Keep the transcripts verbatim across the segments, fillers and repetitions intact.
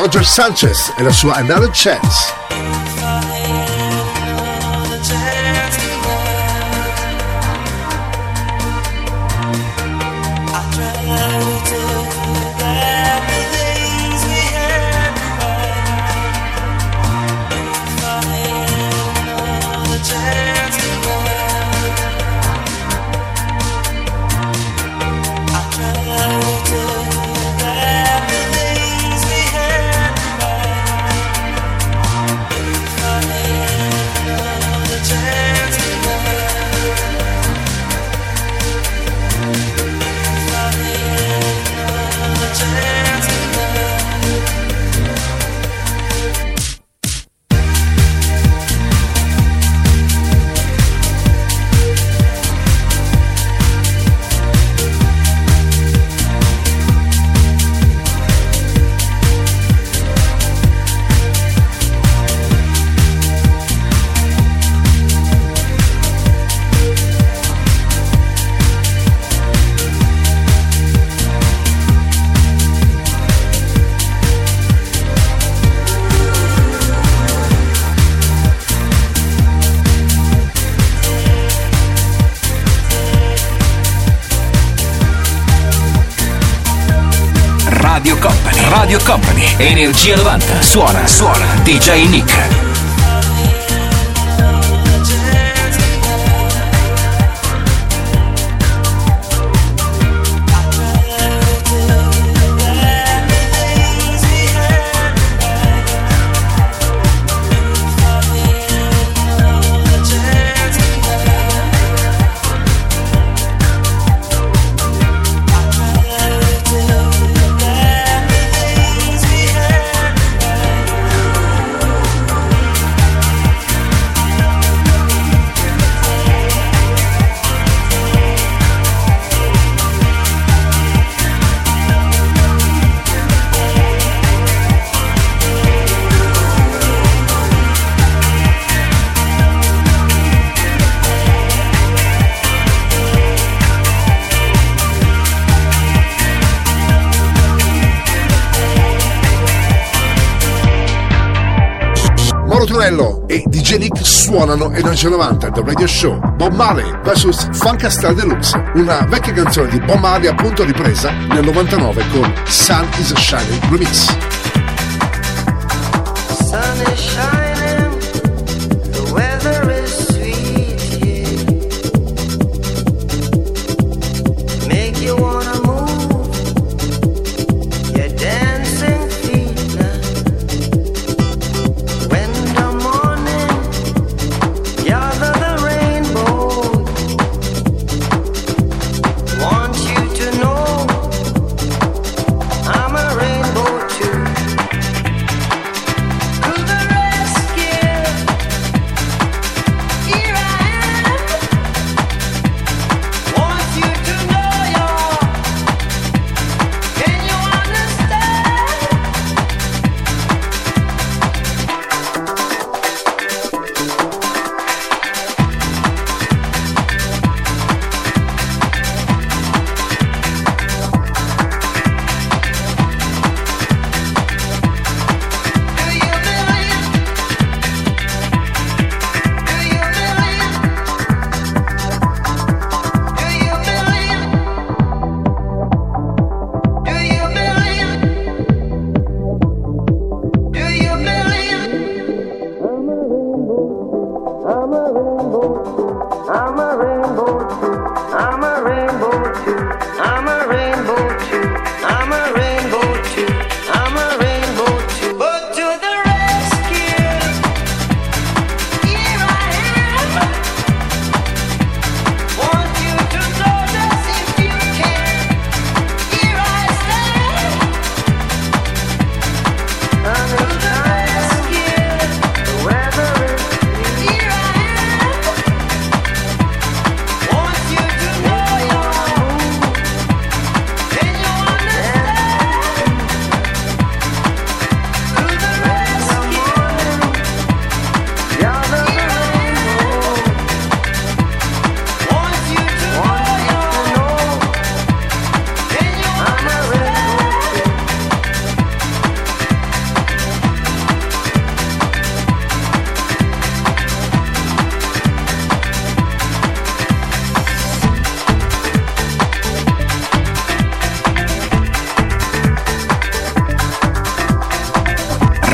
Roger Sanchez e la sua Another Chance. Radio Company, Radio Company, Energia novanta, suona, suona, D J Nick. E D J Nick suonano Energia novanta The Radio Show. Bob Marley vs Funkastar Deluxe, una vecchia canzone di Bob Marley appunto ripresa nel novantanove con Sun is Shining Remix. Sun is shining, the weather is sweet here. Make you wanna move your dancing feet now. When want you to know I'm a rainbow too.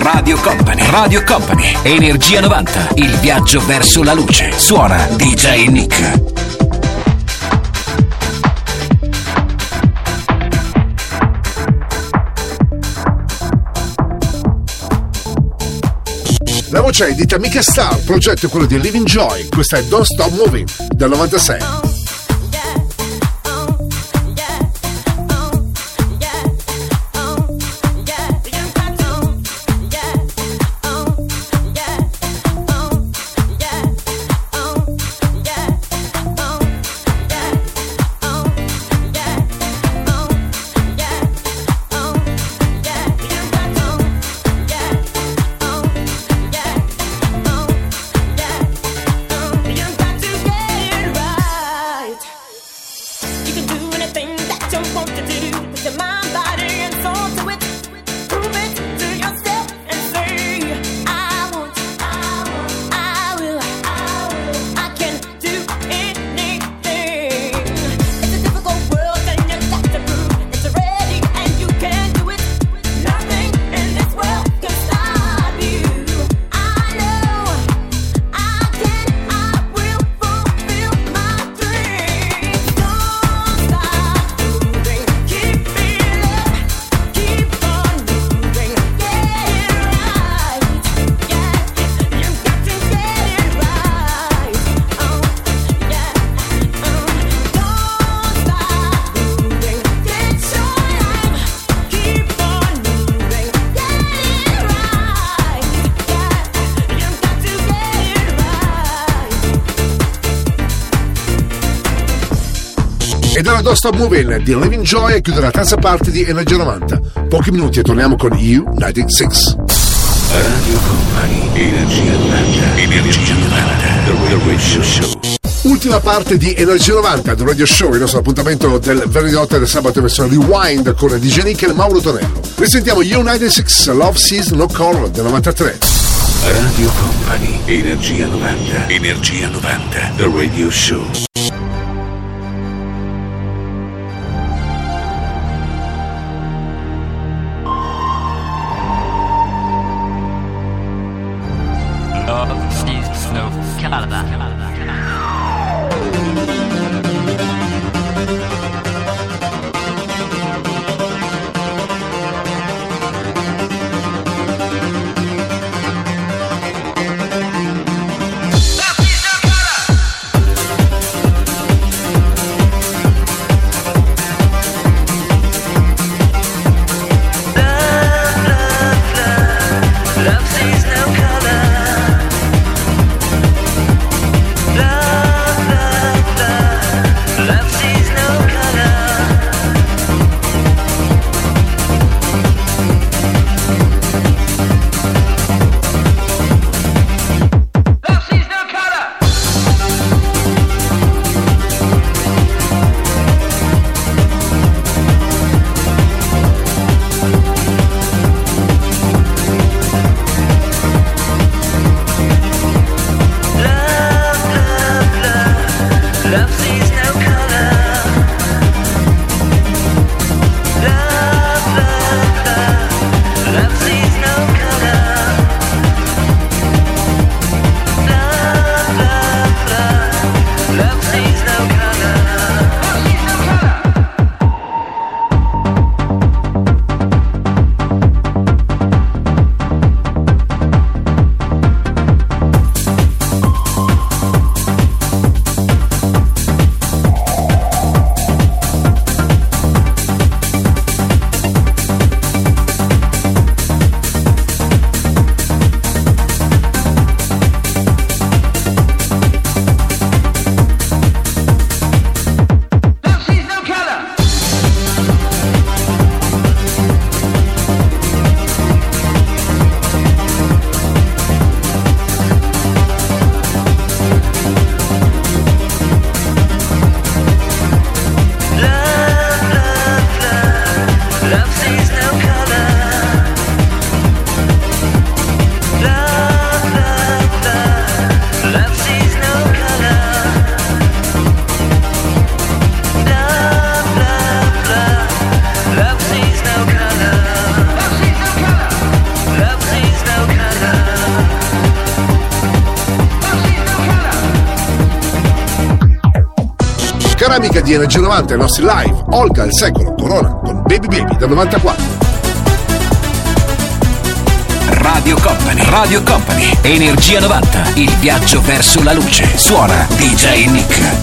Radio Company. Radio Company. Energia novanta. Il viaggio verso la luce. Suona D J Nick. La voce è di Tamika Star, il progetto è quello di Living Joy. Questa è Don't Stop Moving del novantasei. E dalla Don't Stop Moving di Living Joy e chiude la terza parte di Energia novanta. Pochi minuti e torniamo con U novantasei. Radio Company, Energia novanta, Energia novanta, The Radio Show. Ultima parte di Energia novanta, The Radio Show, il nostro appuntamento del venerdì notte del sabato in versione Rewind con D J Nick e Mauro Tonello. Risentiamo U novantasei, Love Sees No Color del novantatré. Radio Company, Energia novanta, Energia novanta, The Radio Show. Love cara amica di Energia novanta, i nostri live, Olga il secolo, Corona con Baby Baby del novantaquattro. Radio Company, Radio Company, Energia novanta, il viaggio verso la luce. Suona D J Nick.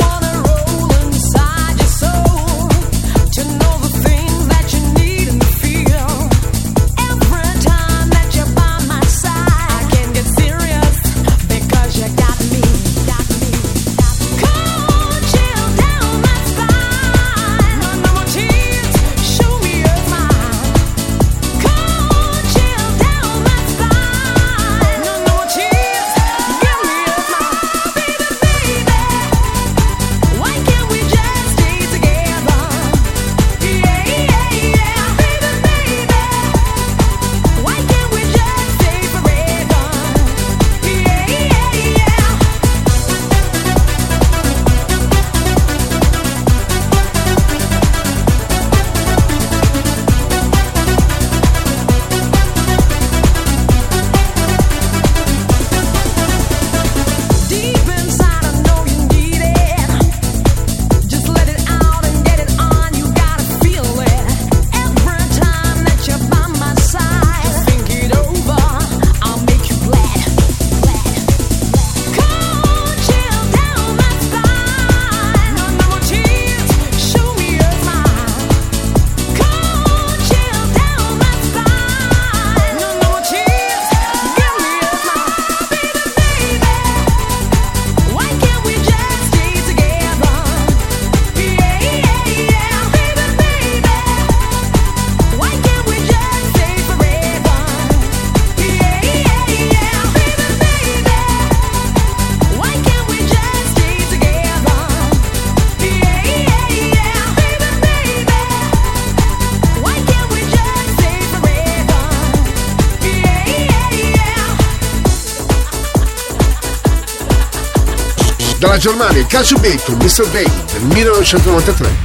Dalla Germania, Calcio Bay con mister Bay del millenovecentonovantatré.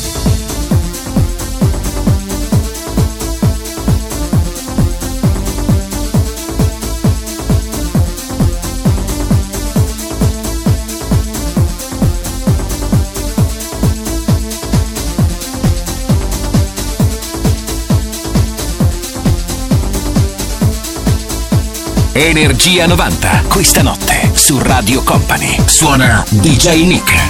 Energia novanta, questa notte su Radio Company. Suona D J Nick.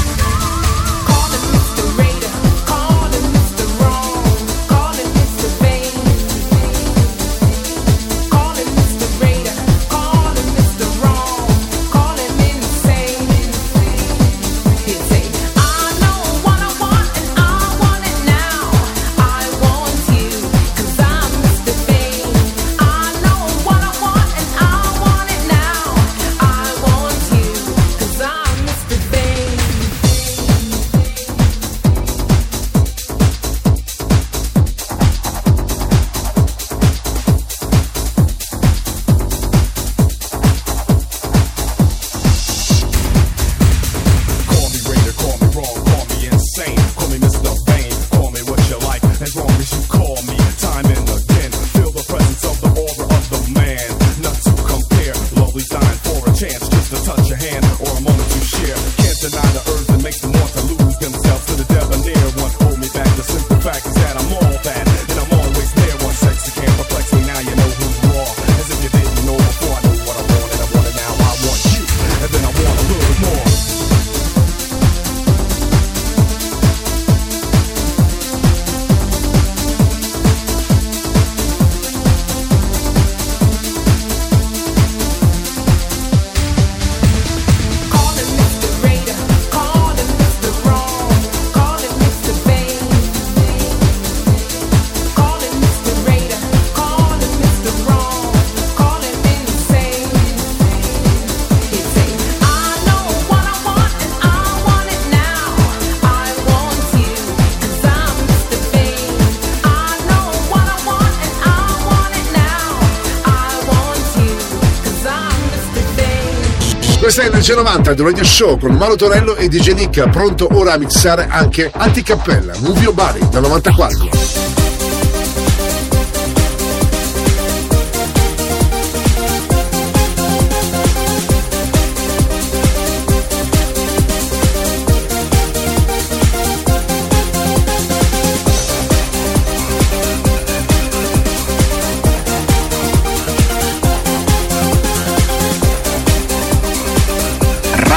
Questa è Energia novanta del Radio Show con Mauro Tonello e D J Nick, pronto ora a mixare anche Anticappella, Move Your Body del novantaquattro.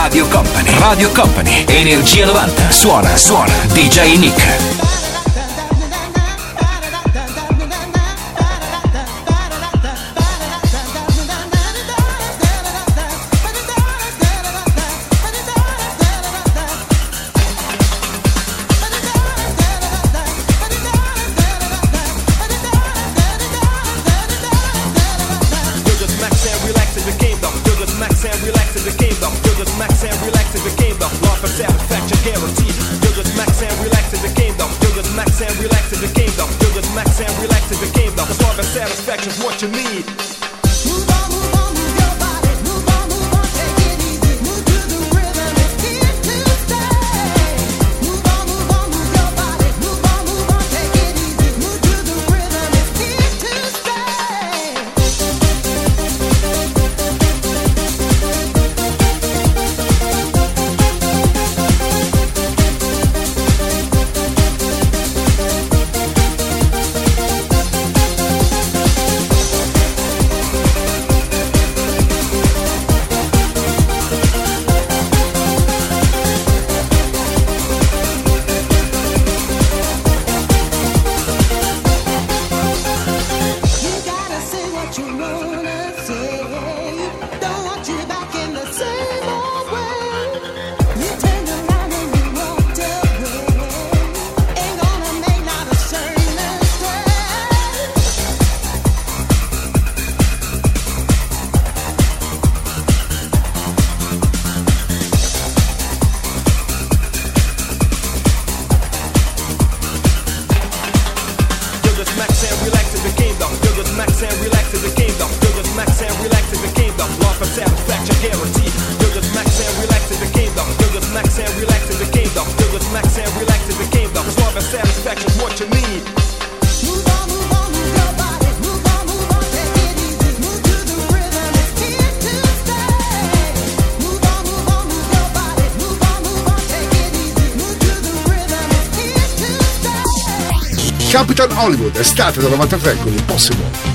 Radio Company. Radio Company. Energia novanta. Suona, suona. D J Nick. Capital Hollywood, estate del novantatré con Impossible.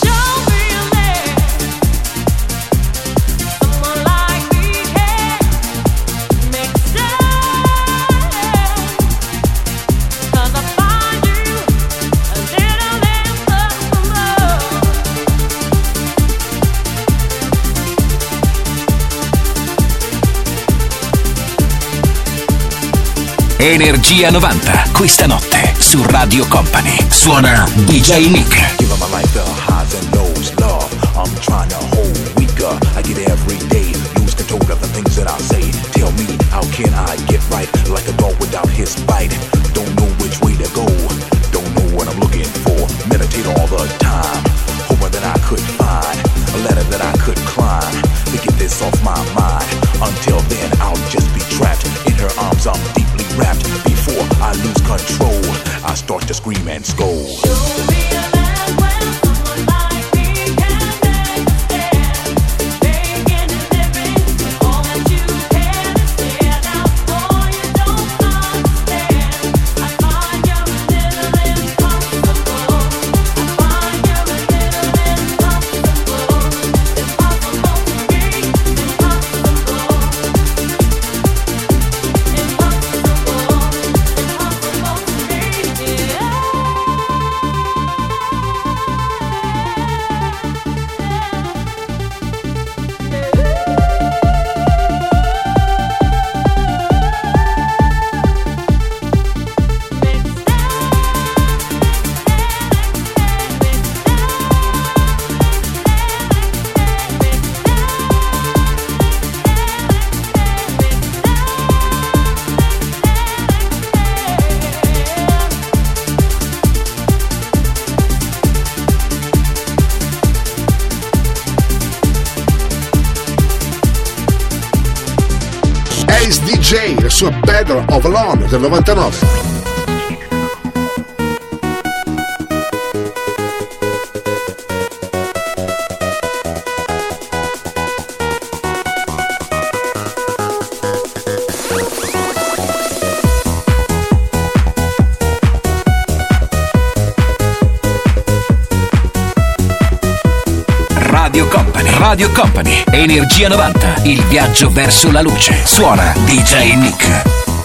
Energia novanta, questa notte su Radio Company. Suona D J Nick. Give my life the highs and lows, love. I'm trying to hold weaker. I get every day, lose control of the things that I say. Tell me, how can I get right? Like a dog without his bite. Don't know which way to go. Don't know what I'm looking for. Meditate all the time. Hoping that I could find a ladder that I could climb to get this off my mind. Until then, I'll just be trapped in her arms. I'm deeply wrapped. Before I lose control, I start to scream and scold. D J, la sua Battle of Alone del novantanove. Radio Company. Radio Company. Energia novanta. Il viaggio verso la luce. Suona D J Nick.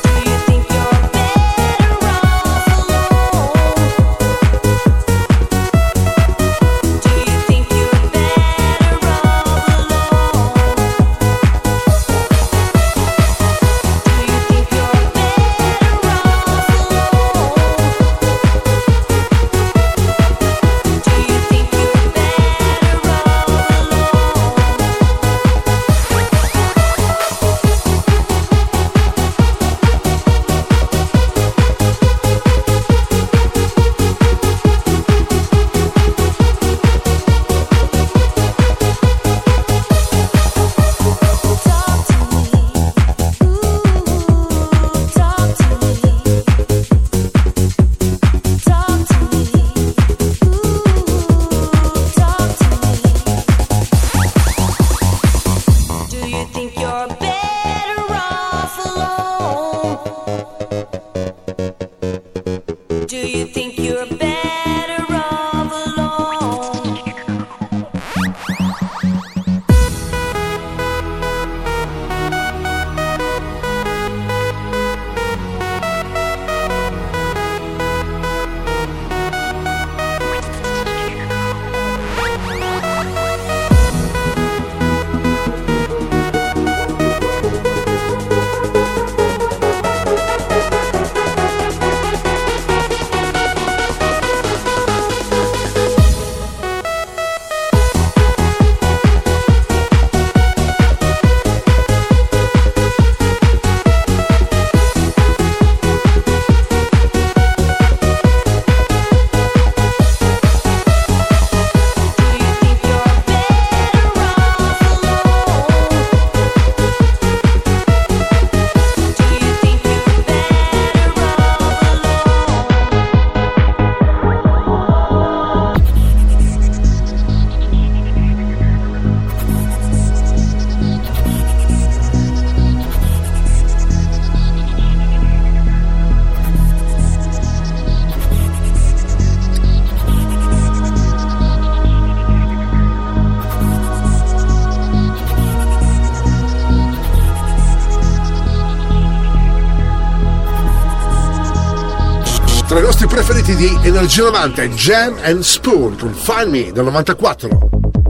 Tra i nostri preferiti di Energia novanta, Jam and Spoon con Find Me del novantaquattro.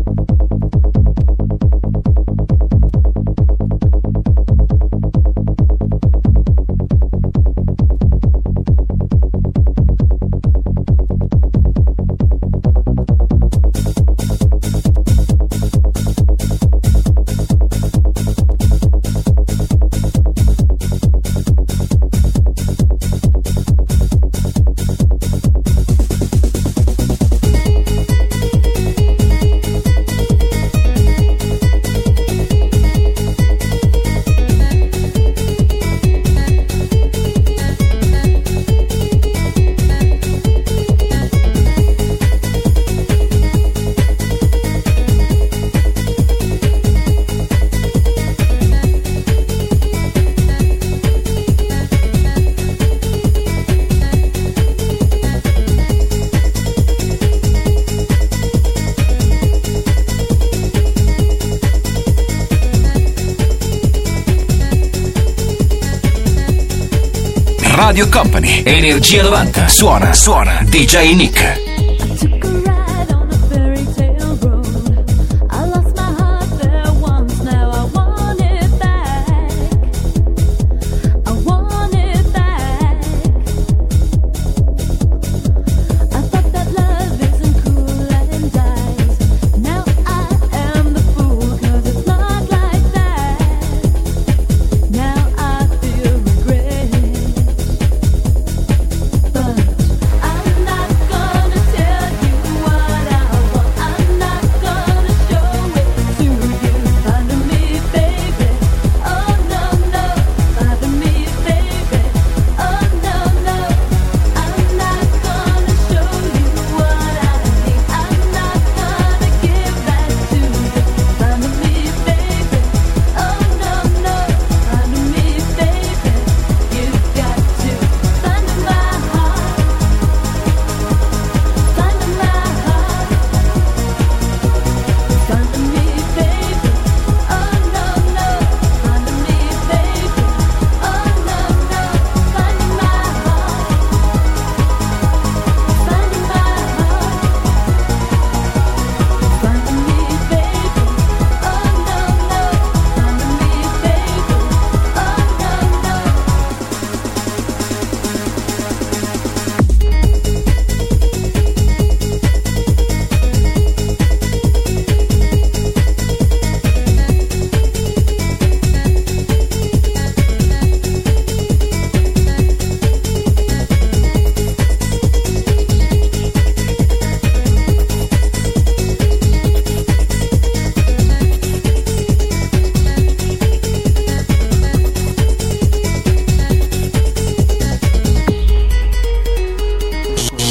Radio Company, Energia novanta. Suona, suona D J Nick. Gonna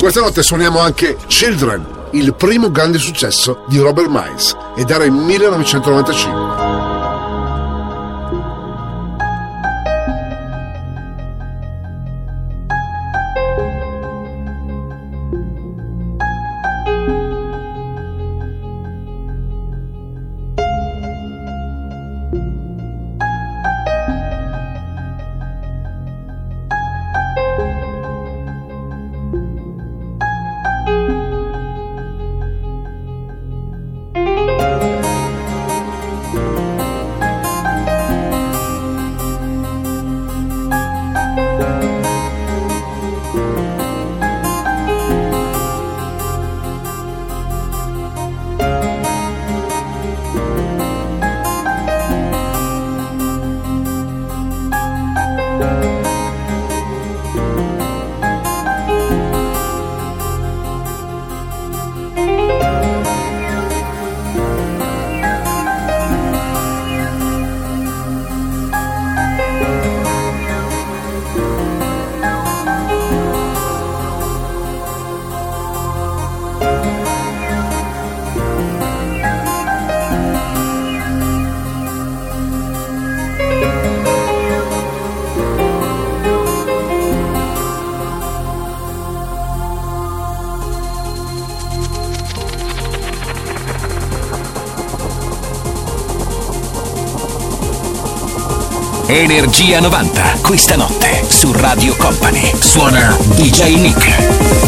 Questa notte suoniamo anche Children, il primo grande successo di Robert Miles, ed era il millenovecentonovantacinque. Energia novanta, questa notte su Radio Company. Suona D J Nick.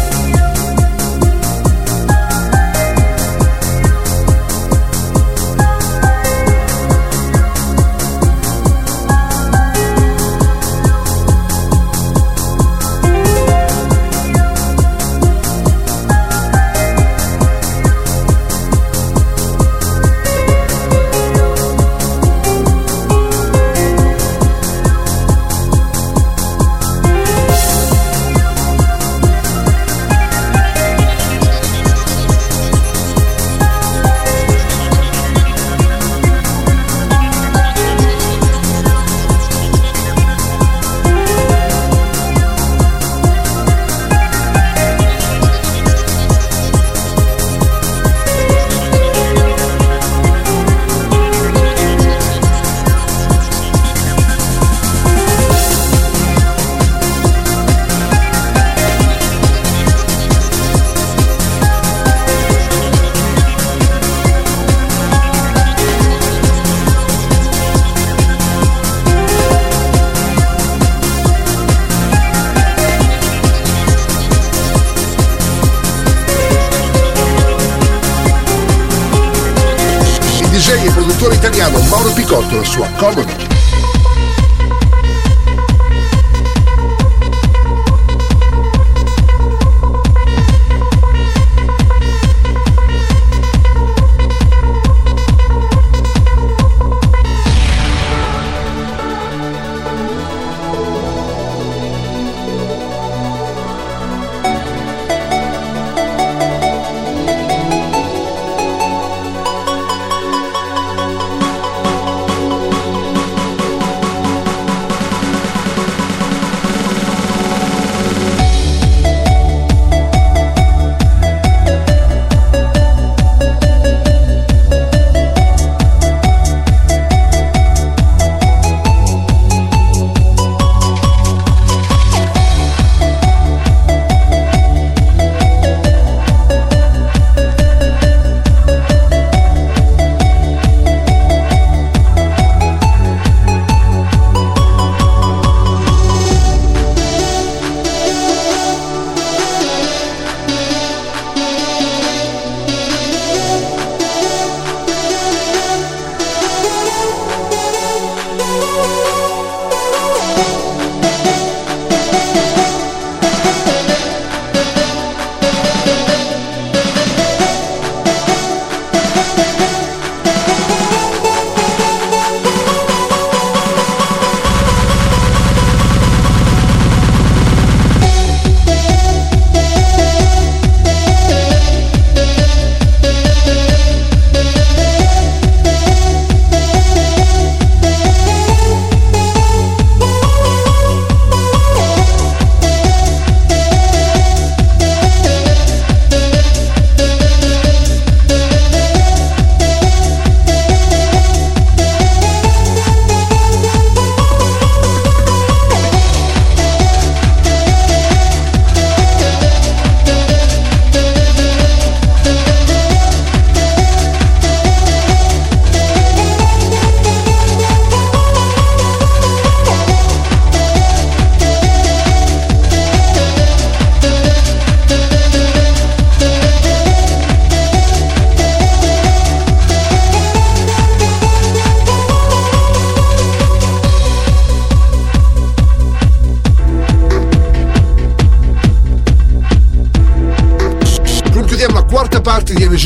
Italiano Mauro Picotto e la sua Comodo.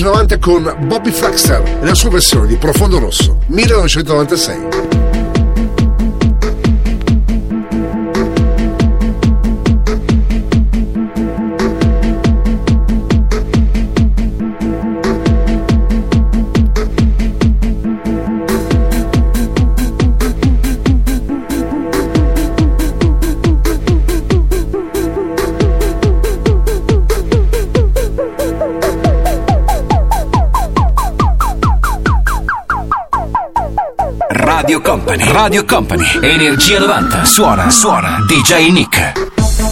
Energia novanta con Bobby Flaxter e la sua versione di Profondo Rosso, millenovecentonovantasei. Radio Company, Radio Company, Energia novanta, suona, suona, D J Nick.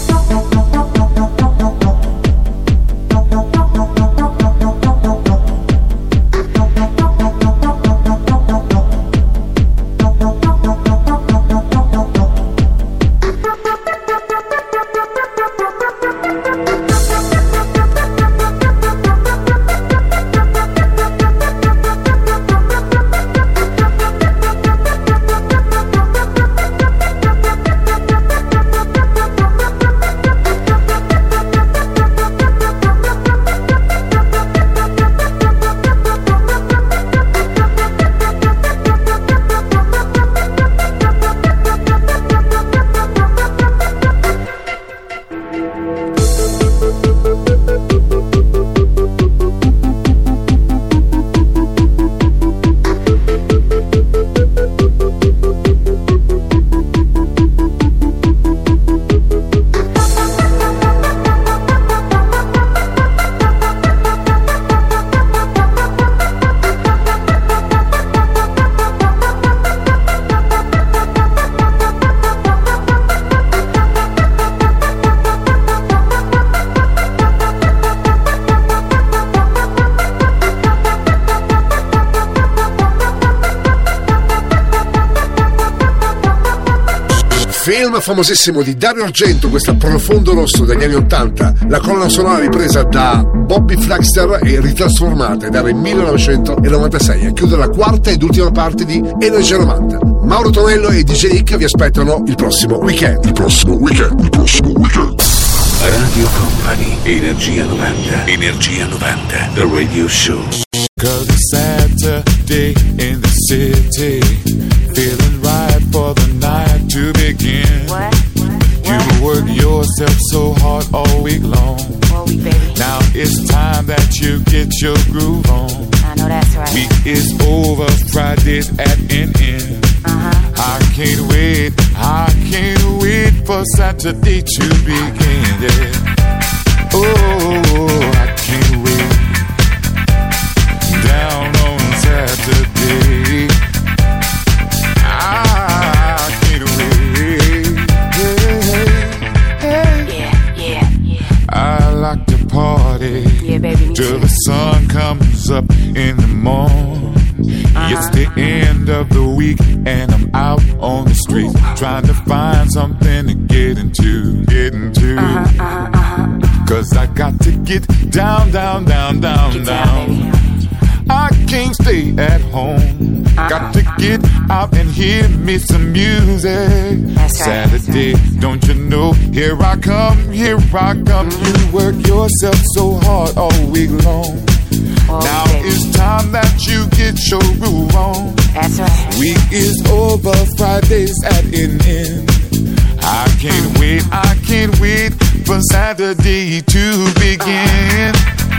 Film famosissimo di Dario Argento, questa Profondo Rosso degli anni ottanta, la colonna sonora ripresa da Bobby Flaxter e ritrasformata ed era il millenovecentonovantasei a chiudere la quarta ed ultima parte di Energia novanta. Mauro Tonello e D J Nick vi aspettano il prossimo weekend. Il prossimo weekend, il prossimo weekend. Radio Company, Energia novanta, Energia novanta, The Radio Show. Cause it's Saturday in the city, feeling right for the night to begin. What? You work yourself so hard all week long. All week, baby. Now it's time that you get your groove on. I know that's right. Week is over, Friday's at an end. Uh-huh. I can't wait, I can't wait for Saturday to begin. Yeah. Oh, I can't wait. Down on Saturday, I can't wait. Hey, hey. Yeah, yeah, yeah. I like to party Yeah, baby, me till too. the sun comes up in the morning. Uh-huh. It's the end of the week and I'm out on the street trying to find something to get into, get into. Uh-huh, uh-huh, uh-huh. Cause I got to get down, down, down, down, Get down. down, baby. I can't stay at home. Uh-uh. Got to get out and hear me some music. That's right, Saturday, that's right. don't you know? Here I come, here I come. You work yourself so hard all week long. All Now week, baby. it's time that you get your groove on. That's right. Week is over, Friday's at an end. I can't wait, I can't wait for Saturday to begin.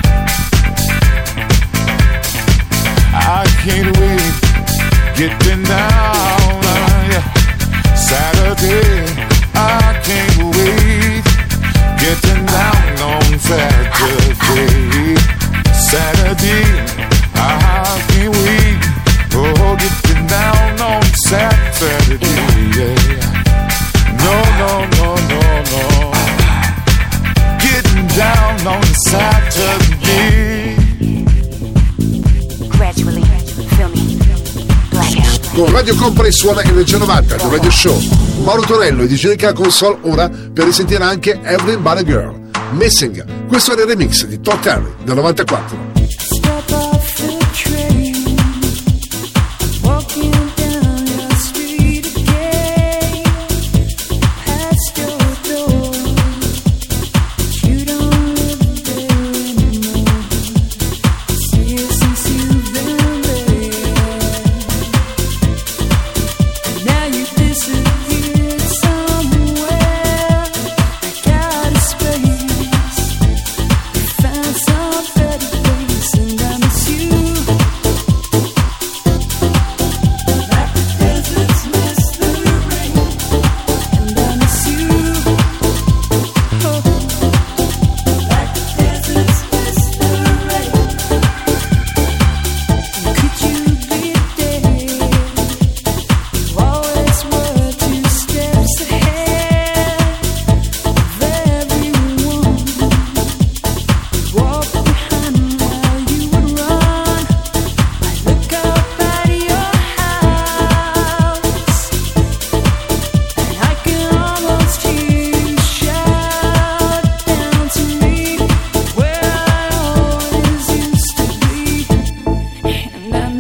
I can't wait, getting down, uh, yeah. Saturday, I can't wait, getting down on Saturday. Saturday, I can't wait, oh, getting down on Saturday, yeah. No, no, no, no, no, getting down on Saturday. Gradually, feel me, blackout. Con Radio Company suona Energia novanta, The Radio Show. Mauro Tonello e D J Nick alla console ora per risentire anche Everybody Girl, Missing. Questo era il remix di Todd Terry del novantaquattro. Step off the train, walking down your street again, past your door, you don't live there anymore. See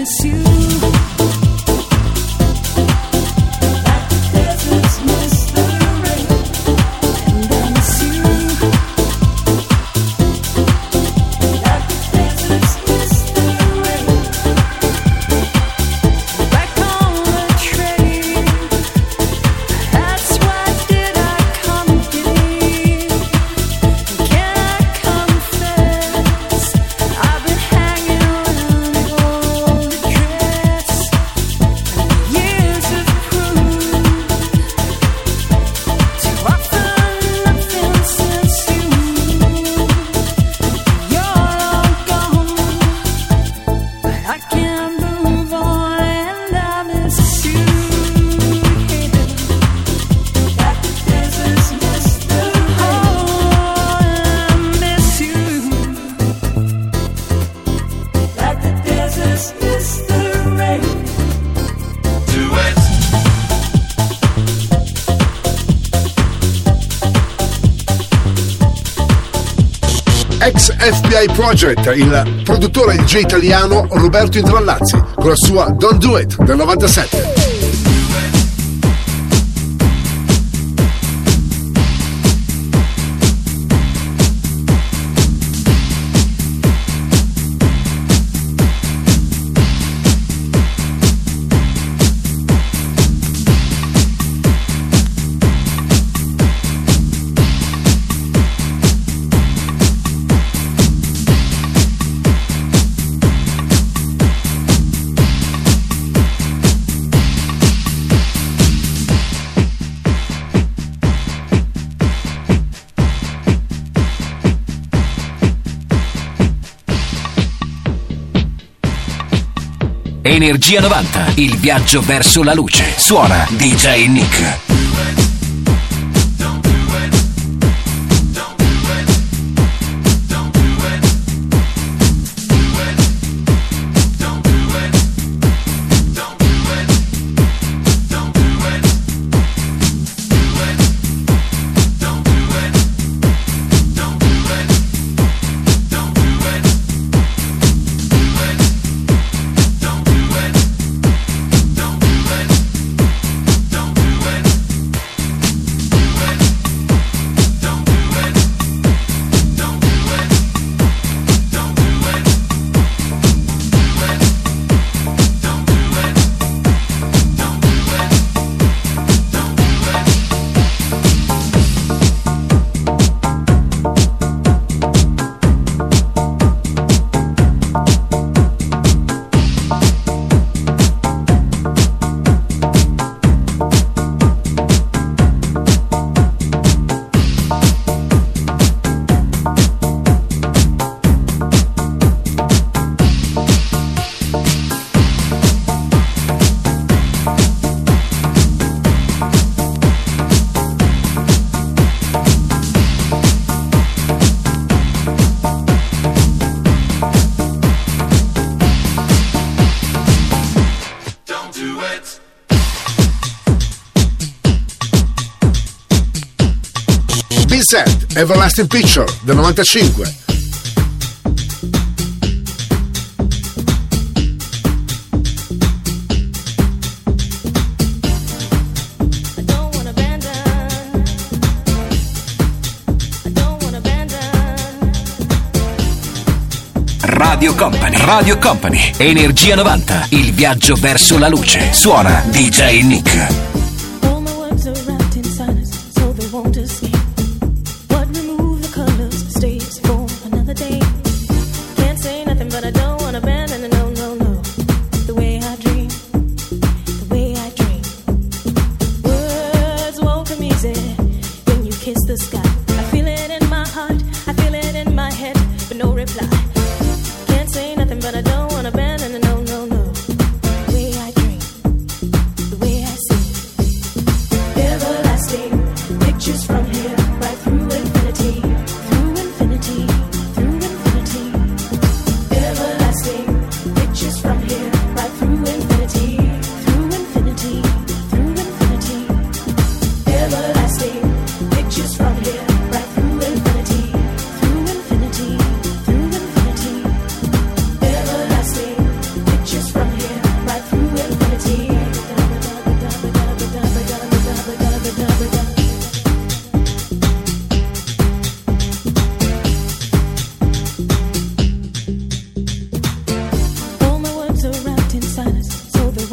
miss you. Like the deserts miss the rain, and I miss you. Like the deserts miss the rain. Back on the train, that's why did I come here. Can I confess, I've been hanging around in old dress. Years have proved too often nothing since you. You're all gone, but I can't move on and I miss you. Like the deserts miss the rain. I miss you. Like the deserts miss the rain. Do it. Ex F B I Project, il produttore e D J italiano Roberto Intrallazzi, con la sua Don't Do It del novantasette. Energia novanta, il viaggio verso la luce. Suona D J Nick. B-Set, Everlasting Picture del novantacinque. I don't wanna abandon. I don't wanna abandon. Radio Company, Radio Company, Energia novanta, il viaggio verso la luce. Suona D J Nick. All my words are wrapped in silence, so they won't escape. What remove the colors stays for another day. Can't say nothing, but I don't wanna abandon. No, no, no. The way I dream, the way I dream. Words won't come easy when you kiss the sky. I feel it in my heart, I feel it in my head, but no reply. Can't say nothing, but I don't wanna abandon. No, no, no. The way I dream, the way I see.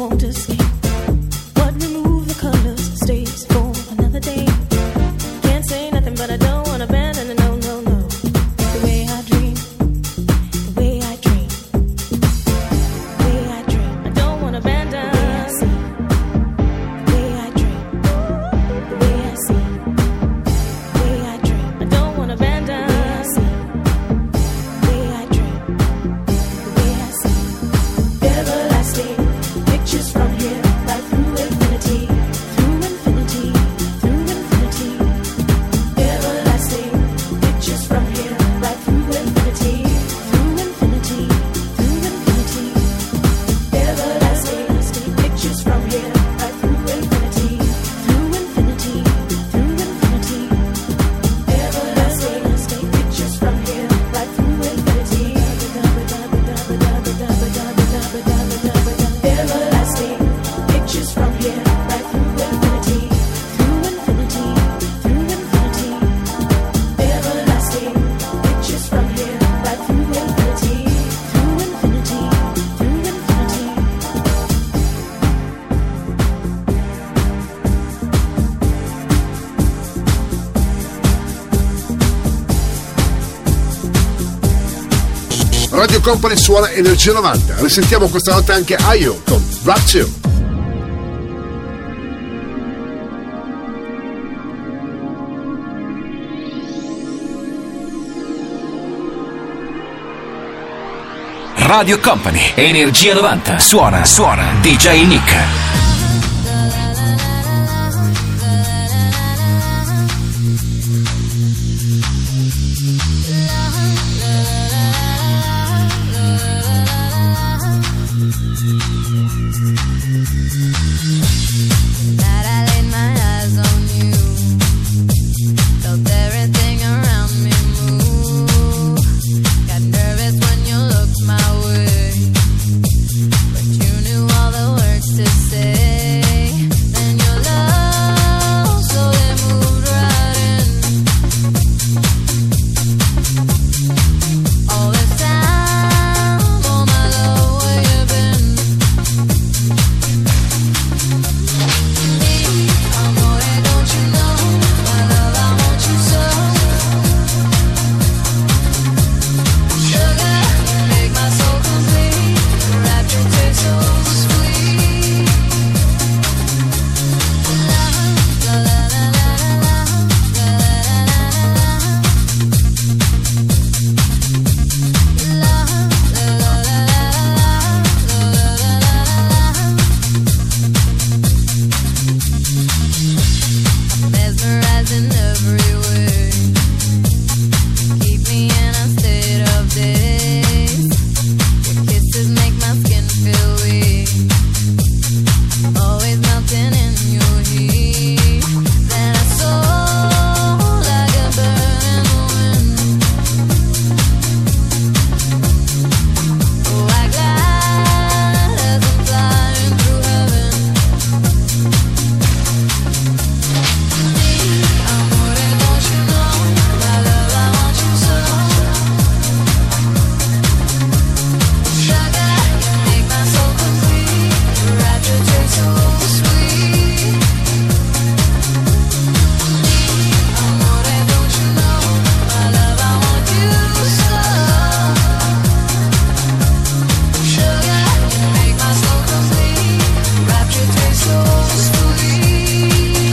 won't escape. What remove the colors stays for another day. Can't say nothing, but I don't want to abandon it. No, no, no. The way I dream, the way I dream, the way I dream. I don't want to abandon. The way I see, the way I dream, the way I see, the way I dream. I don't want to abandon. The way I dream, the way I see. Everlasting pictures from here, right through infinity, through infinity, through infinity. Everlasting pictures from here, right through infinity, through infinity, through infinity. Everlasting pictures from here, right through infinity, through infinity, through infinity. Everlasting pictures from here, right through infinity. Everlasting pictures from here, right through infinity, through infinity, through infinity. Everlasting pictures from here, right through infinity, through infinity, through infinity. Radio Company suona Energia novanta. Risentiamo questa notte anche Ayo con Rapture. Radio Company, Energia novanta. Suona, suona, D J Nick. That I laid my eyes on you, felt everything around me move. Got nervous when you looked my way, but you knew all the words to say. Then your love slowly moved right in. All this time, oh my love, where you been? Amore, don't you know, my love, I want you so. Sugar, you make my soul complete. Your rapture tastes so sweet. La la la la la la la mesmerizing every way. Keep me in a state of daze. Your kisses make my skin feel weak. Always melting in your heat. Then I soar like a bird in the wind. Oh, I glide as I'm flying through heaven. Amore, don't you know, my love, I want you so. Sugar, you make my soul complete. Your rapture tastes so sweet. Amore, don't you know, my love, I want you so. Sugar, you make my soul complete. Your rapture tastes so sweet.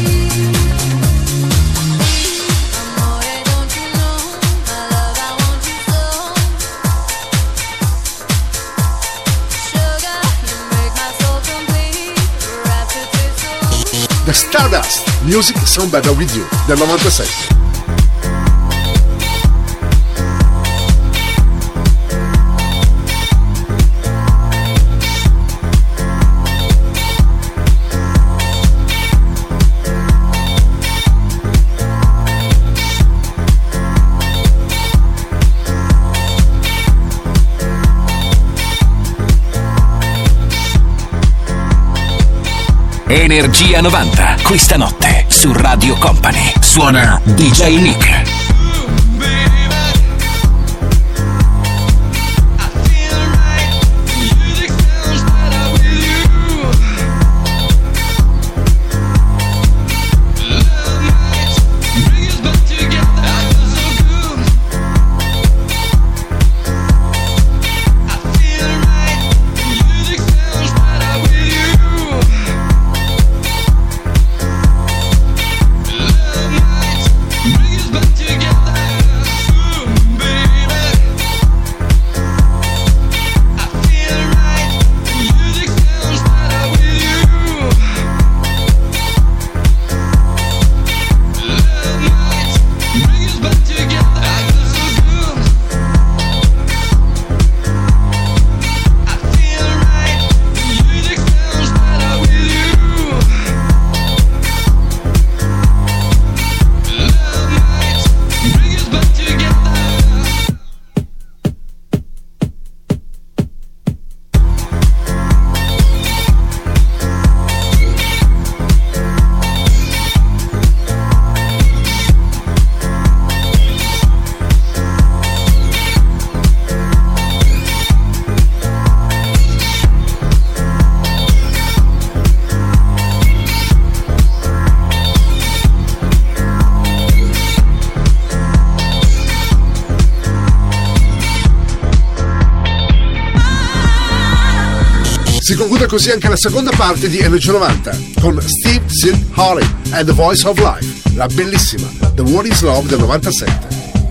Amore, don't you know, my love, I want you so. Sugar, you make my soul complete. Your rapture tastes so. The Stardust, Music Sound Better With You, del novantasette. Energia novanta, questa notte su Radio Company. Suona D J Nick. I feel right, music sounds better with you. Si conclude così anche la seconda parte di Energia novanta con Steve Silk Harley and The Voice of Life, la bellissima The What Is Love del novantasette.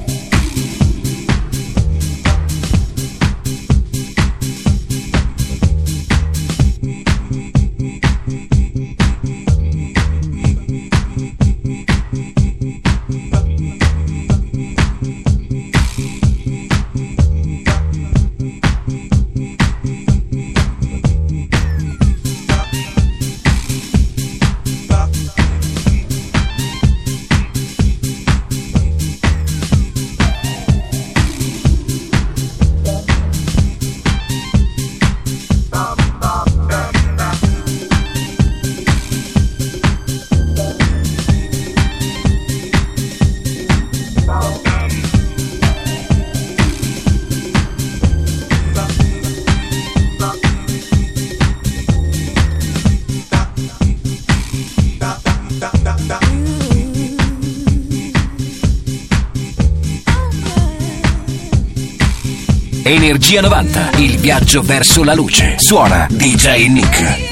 Energia novanta, il viaggio verso la luce. Suona D J Nick.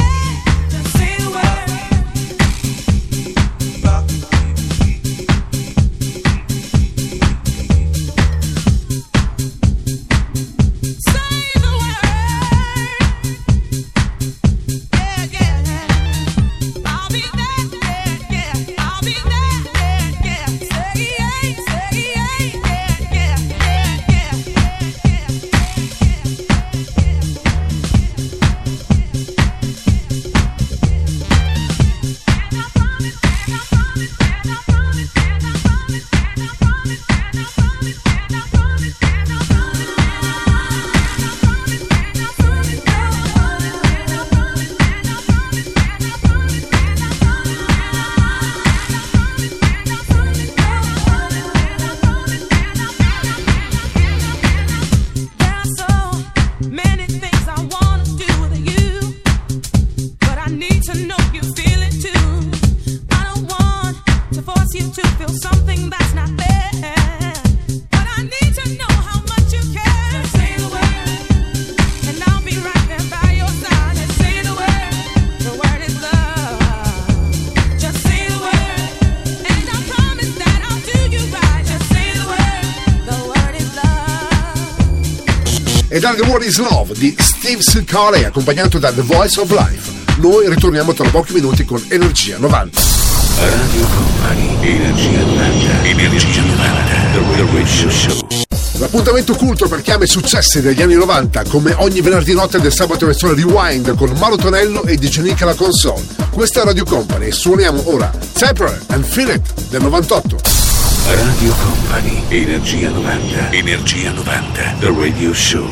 E dal The What Is Love di Steve Silk Harley, accompagnato da The Voice of Life. Noi ritorniamo tra pochi minuti con Energia novanta. Radio Company, Energia novanta, Energia novanta, The Radio Show. L'appuntamento culto per chiame successi degli anni novanta, come ogni venerdì notte del sabato versione Rewind con Mauro Tonello e D J Nick alla console. Questa è Radio Company e suoniamo ora Temporary and Feel It del novantotto. Radio Company, Energia novanta, Energia novanta, The Radio Show.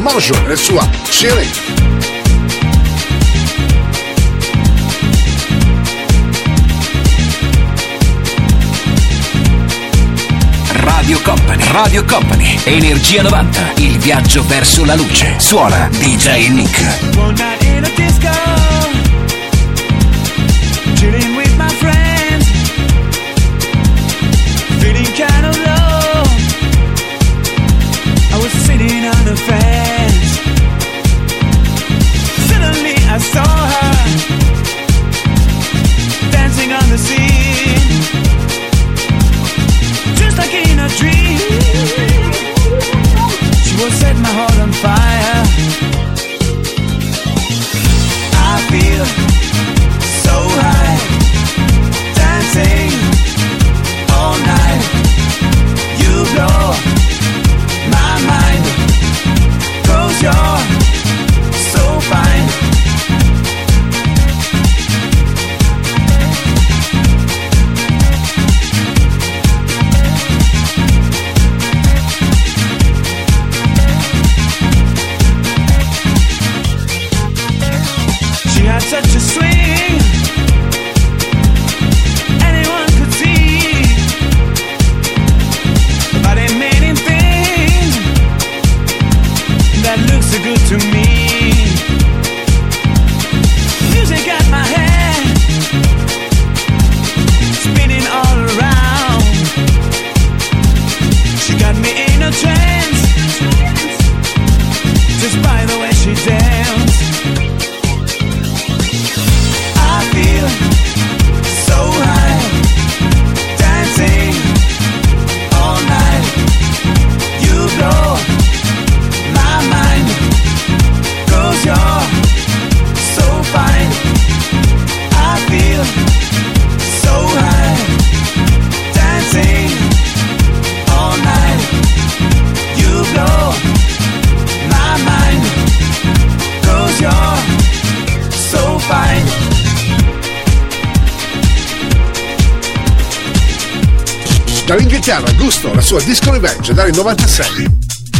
Mojo e la sua Chilling. Radio Company, Radio Company, Energia novanta, il viaggio verso la luce. Suona D J Nick. One night in a disco, chilling with my friends, feeling kind of low. I was sitting on the fence. Suddenly I saw her dancing on the scene, just like in a dream. She will set my heart on fire. I feel so high, dancing all night. You blow my mind, 'cause you're so fine. She had such a swing, anyone could see. But in many things that look so good to me. Music at my head, spinning all around. She got me in a trance, just by the way she danced. I feel so high, dancing all night. You blow my mind, 'cause you're so fine. I feel so high, dancing all night. You blow my mind, 'cause you're so fine. Dall'Inghilterra, Gusto, la sua Disco Revenge dal novantasei.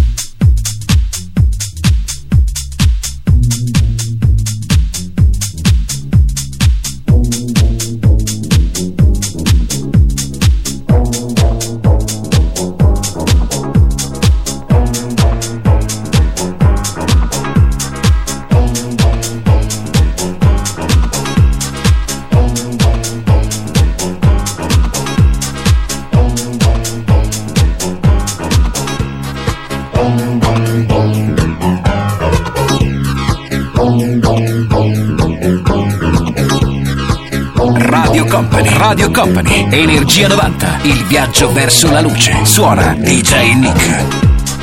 Radio Company, Radio Company, Energia novanta, il viaggio verso la luce. Suona D J Nick.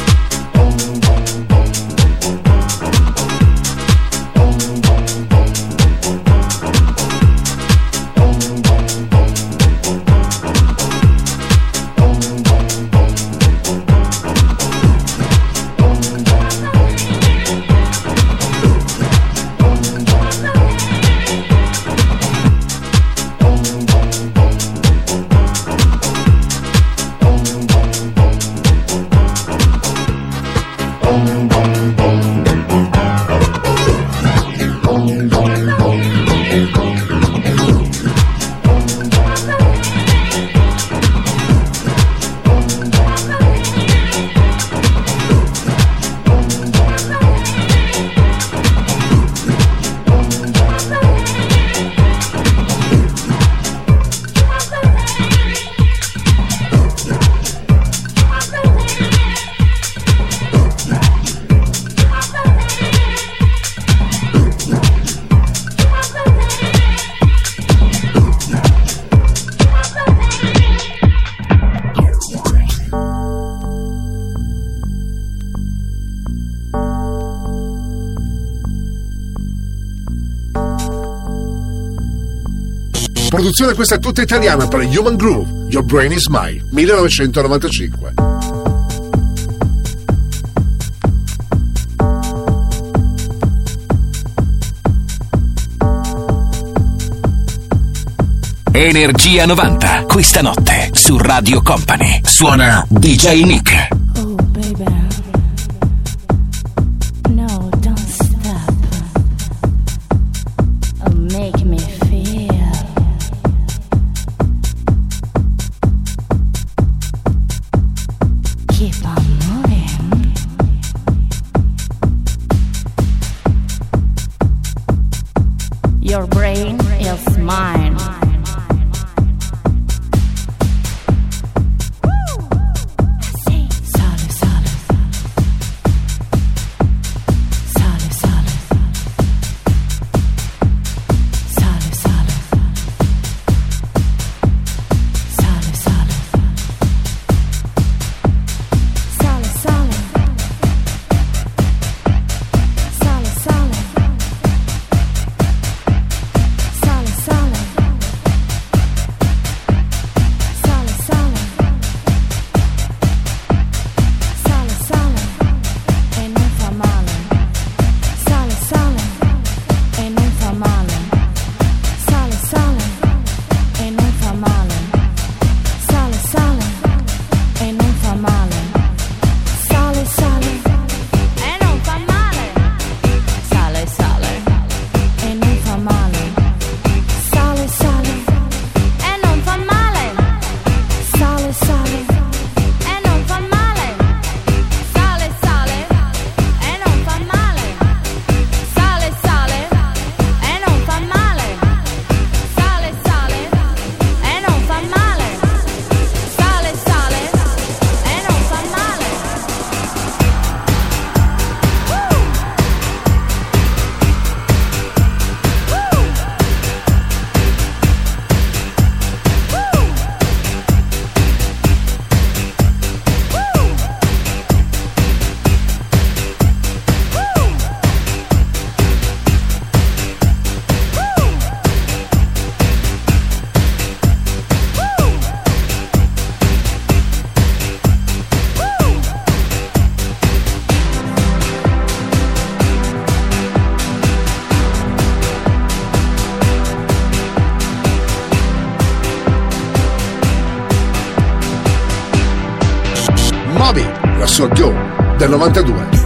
Produzione questa tutta italiana per Human Groove, Your Brain is Mine, millenovecentonovantacinque. Energia novanta, questa notte su Radio Company. Suona D J Nick. Oh, baby. Bobby, la sua Go del novantadue.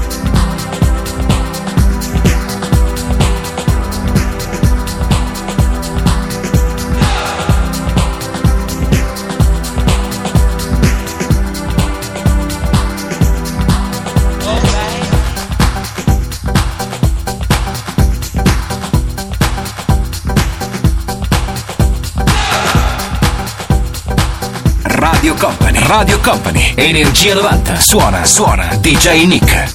Radio Company, Radio Company, Energia novanta, suona, suona, D J Nick.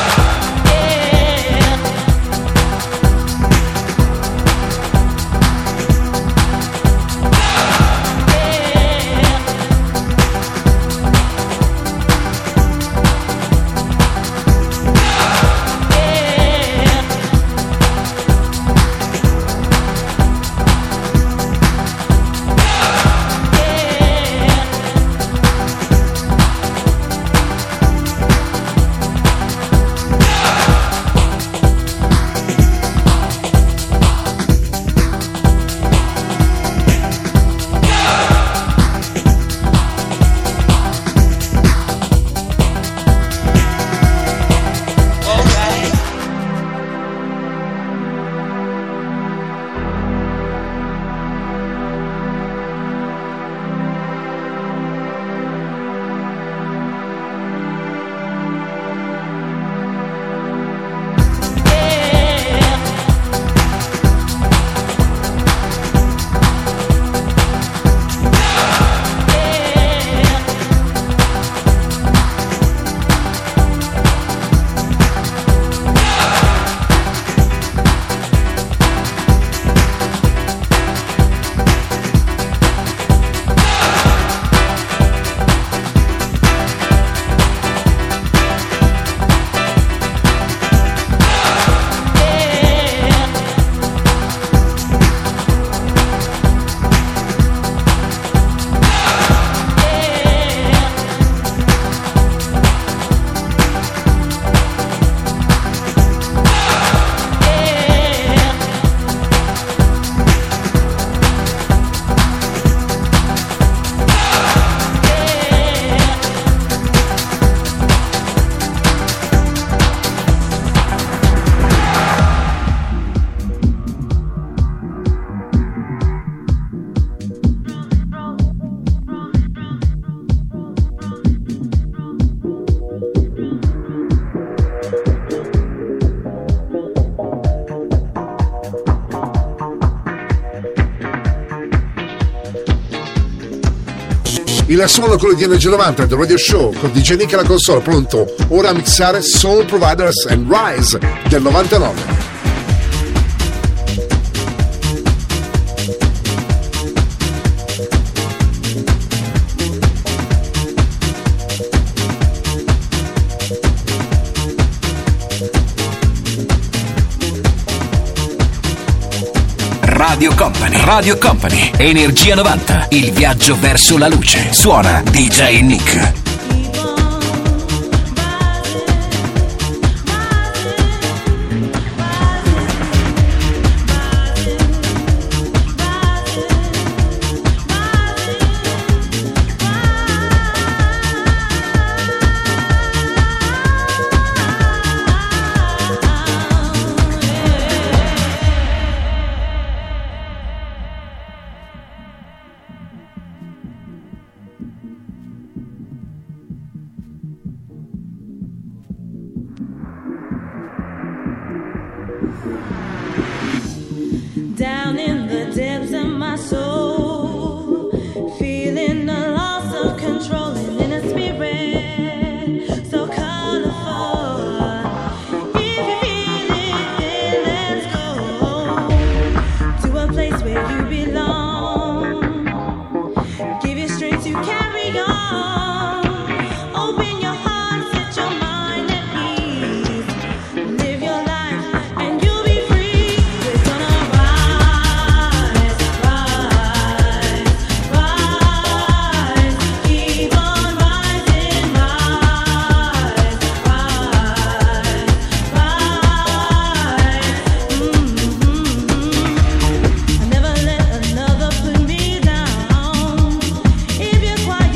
Il suono quello di Energia novanta del Radio Show con D J Nick alla console, pronto ora a mixare Soul Providers and Rise del novantanove. Radio Company, Radio Company, Energia novanta, il viaggio verso la luce. Suona D J Nick. Down in the depths of my soul, feeling a loss of control and in a spirit so colorful. If you feel it, then let's go to a place where you belong. Give you strength to carry on. Open your heart, set your mind at peace. Live your life and you'll be free. We're gonna rise, rise, rise. Keep on rising, rise, rise, rise. Mm-hmm. I never let another put me down. If you're quiet,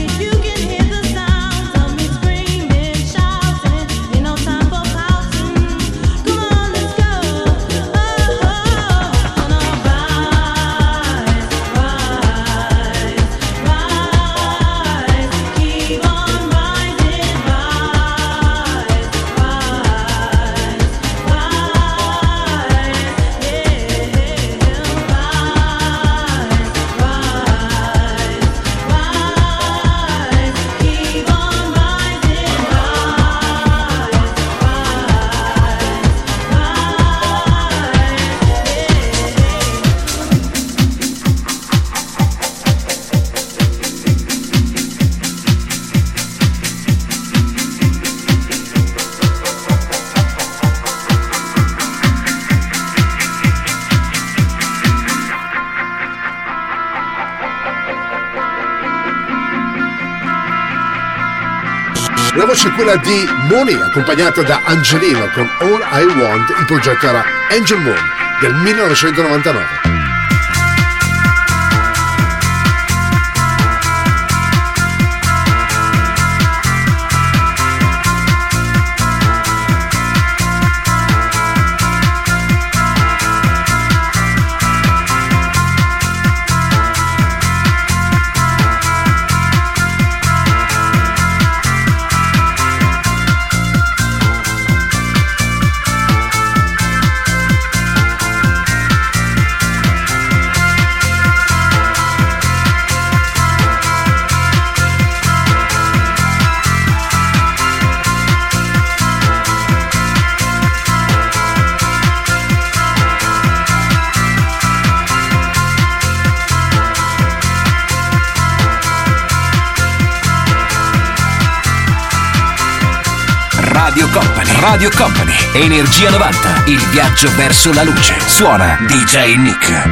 La voce è quella di Moni, accompagnata da Angelino con All I Want. Il progetto era Angel Moon del millenovecentonovantanove. Radio Company, Radio Company, Energia novanta, il viaggio verso la luce. Suona D J Nick.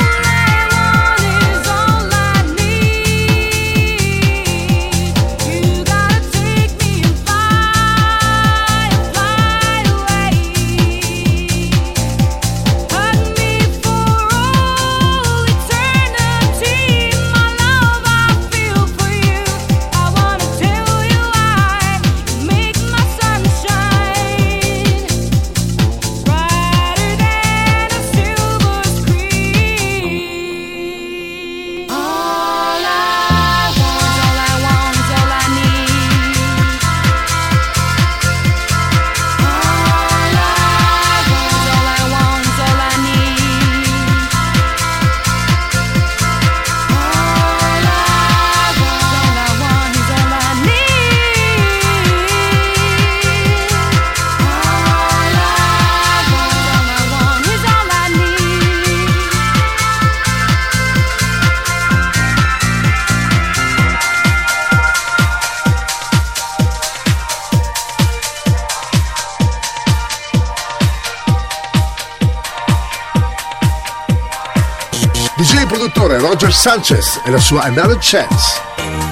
D J produttore Roger Sanchez e la sua Another Chance.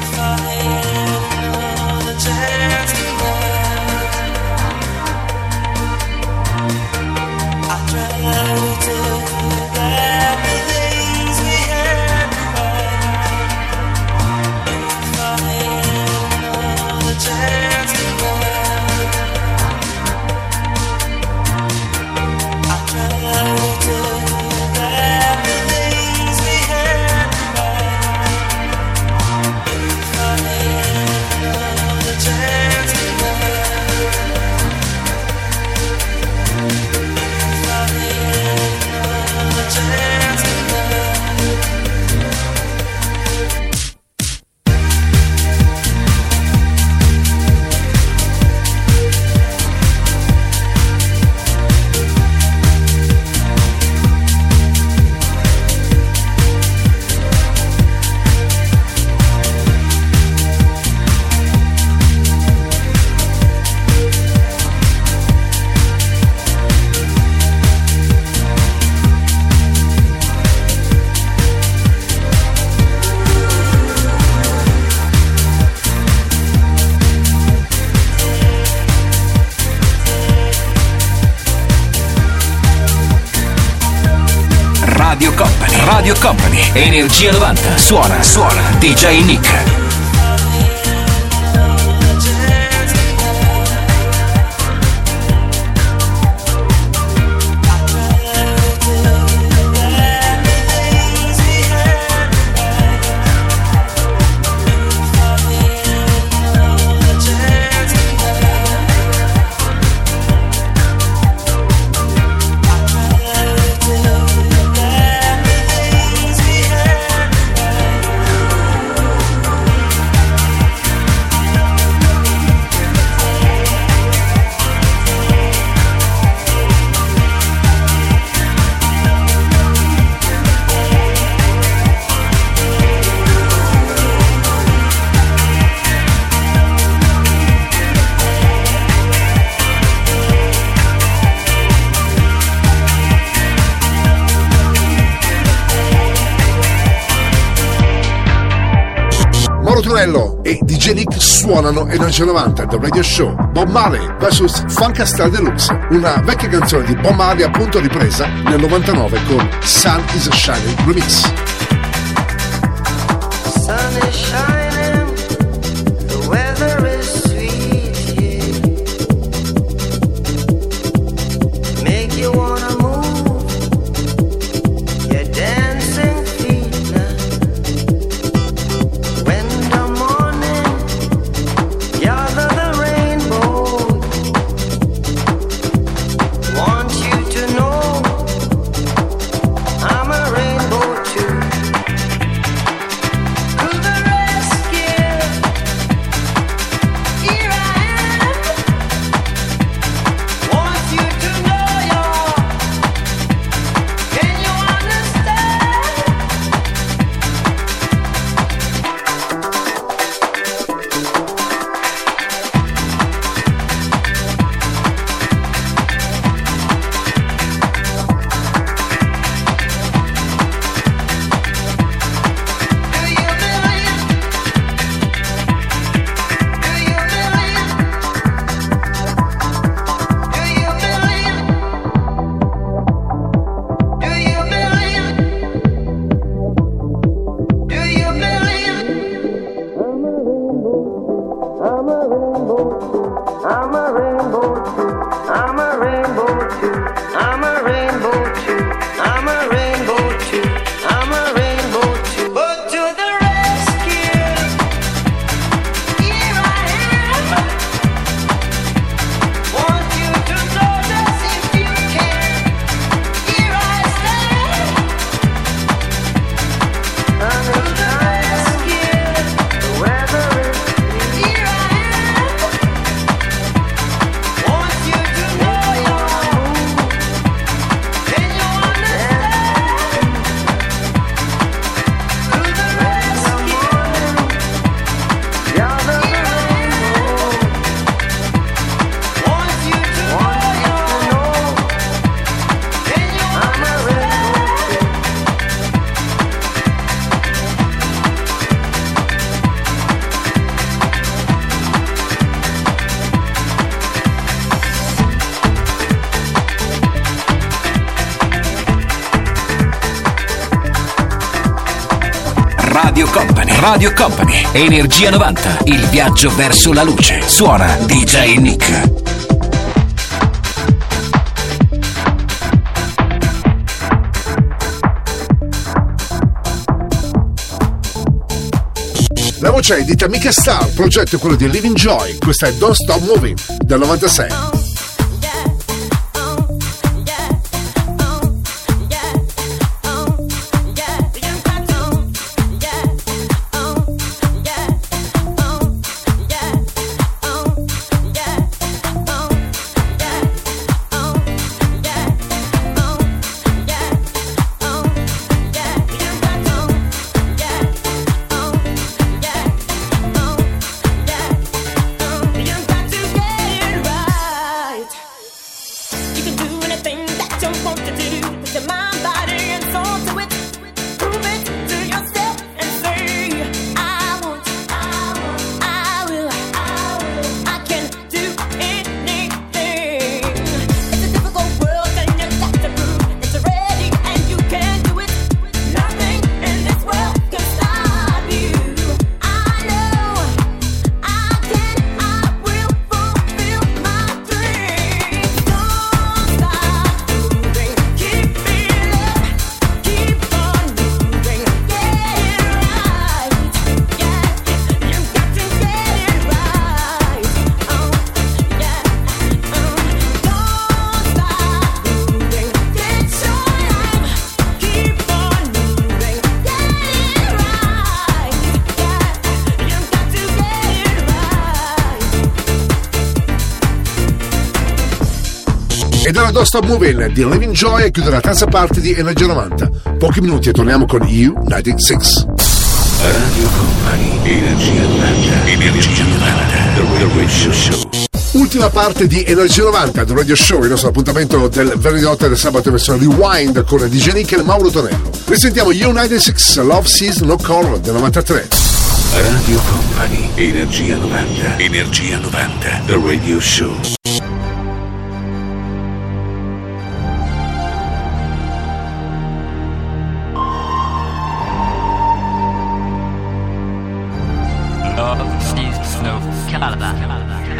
Radio Company, Radio Company, Energia novanta, suona, suona, D J Nick. Suonano e D J Nick suonano Energia novanta The Radio Show. Bob Marley vs Funkastar Deluxe, una vecchia canzone di Bob Marley appunto ripresa nel novantanove con Sun is Shining Remix. Sun is shining, the weather is sweet here. Make you wanna move your dancing feet now. When the morning gather the rainbow, want you to know I'm a rainbow too. Radio Company, Radio Company, Energia novanta, il viaggio verso la luce. Suona D J Nick. La voce è di Tamika Star, il progetto è quello di Living Joy, questa è Don't Stop Moving del novantasei. Ed era Don't Stop Moving di Living Joy e chiude la terza parte di Energia novanta. Pochi minuti e torniamo con U novantasei. Radio Company, Energia novanta, Energia novanta, The Radio Show. Ultima parte di Energia novanta, The Radio Show, il nostro appuntamento del venerdì notte del sabato in versione Rewind con D J Nick e Mauro Tonello. Risentiamo U novantasei, Love Sees No Color del novantatré. Radio Company, Energia novanta, Energia novanta, The Radio Show. Love sees no color.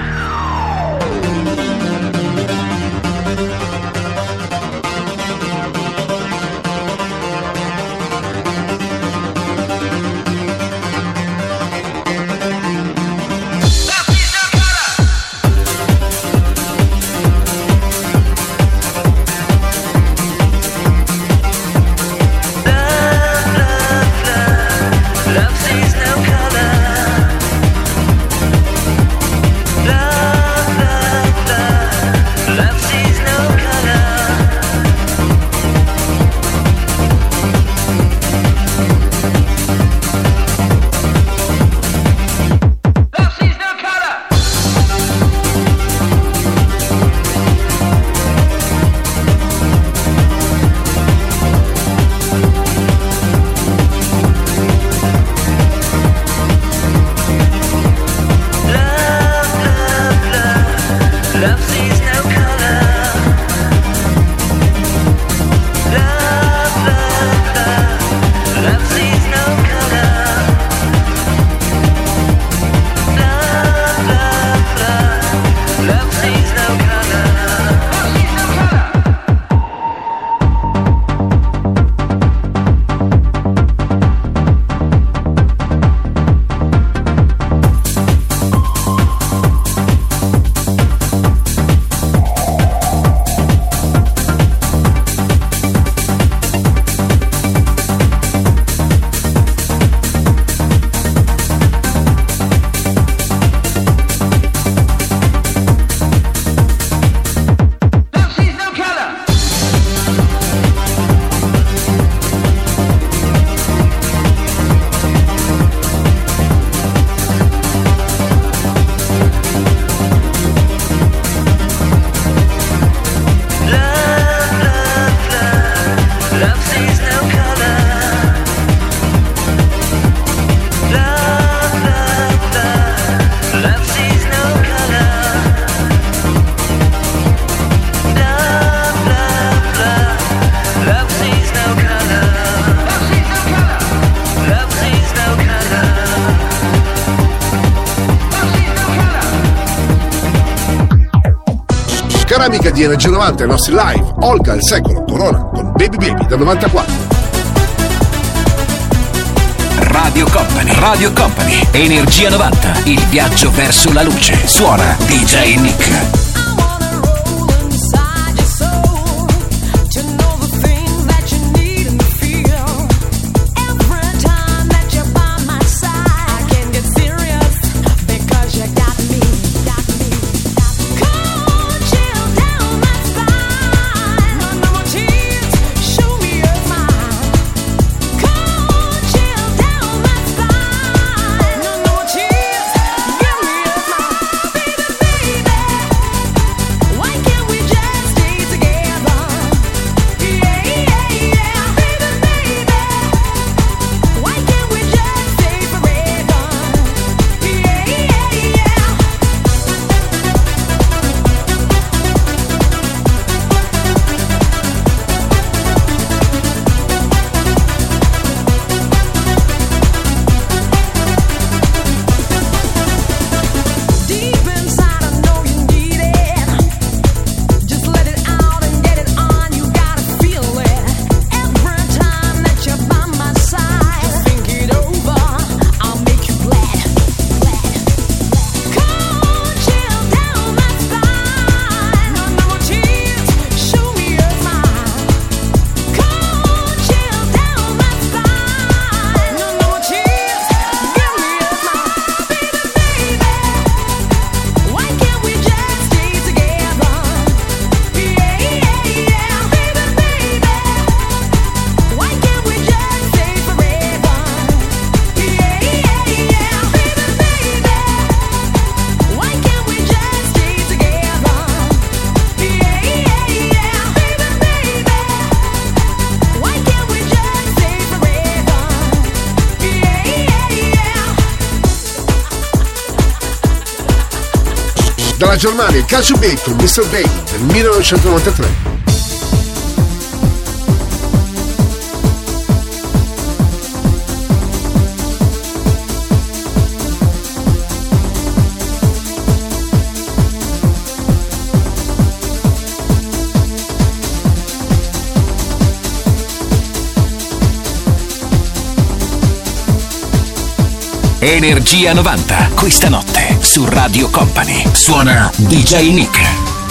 Love sees no color. Ceramica di Energia novanta, i nostri live, Olga il secolo, Corona con Baby Baby del novantaquattro. Radio Company, Radio Company, Energia novanta, il viaggio verso la luce. Suona D J Nick. Baby, baby. Dalla Germania, Calcio Beat con mister Bane del millenovecentonovantatré. Energia novanta, questa notte su Radio Company. Suona D J Nick.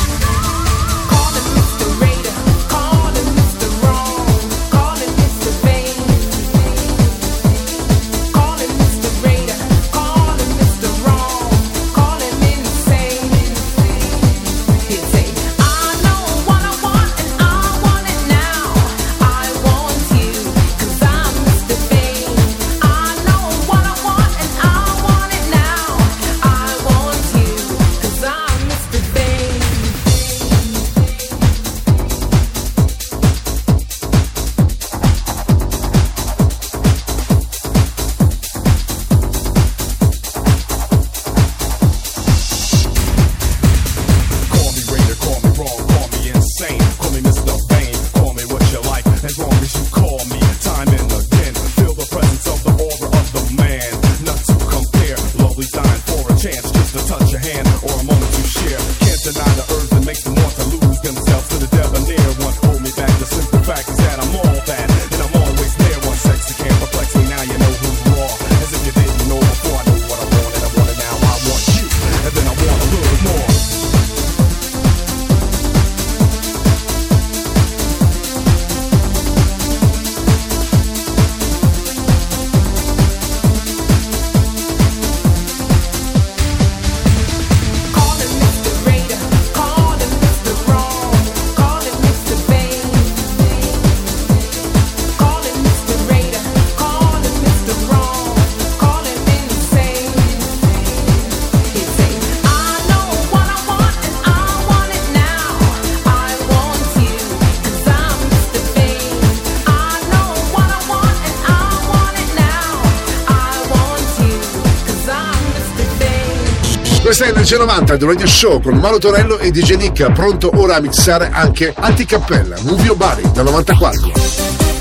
Questa è Energia novanta del Radio Show con Mauro Tonello e D J Nick, pronto ora a mixare anche Anticappella, Move Your Body del novantaquattro.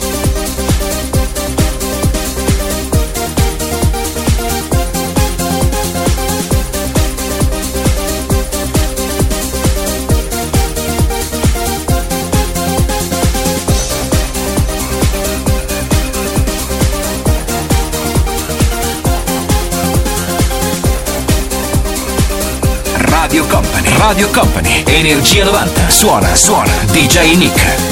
Radio Company, Radio Company, Energia novanta, suona, suona, D J Nick.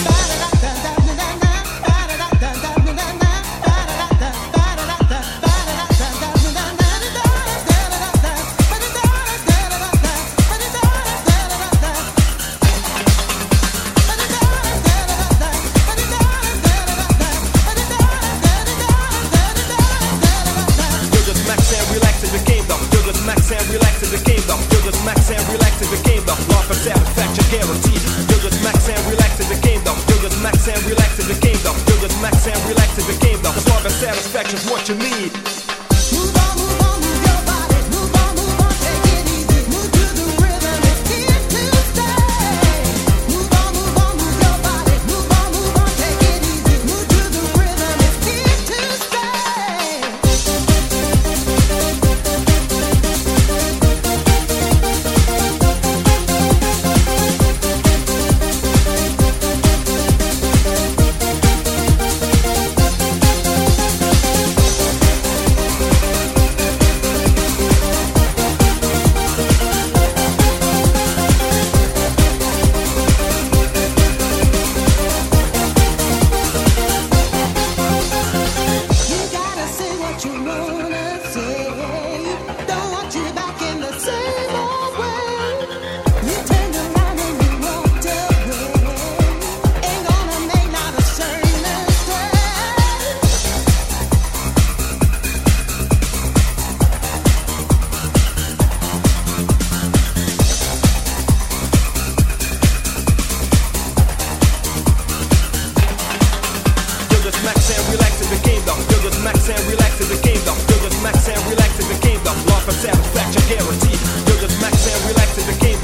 Satisfaction guaranteed. You'll just max and relax in the game.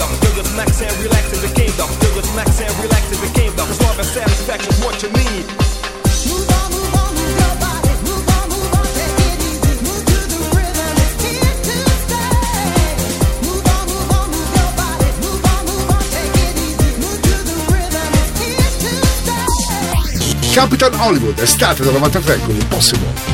and relax in the game, though. Feel the max and relax in the game, though. As long as satisfaction's what you need. Move on, move on, move your body. Move on, move on, take it easy. Move to the rhythm, it's here to stay. Move on, move on, move your body. Move on, move on, take it easy. Move to the rhythm, it's here to stay. Capital Hollywood, estate del novantatré con Impossible.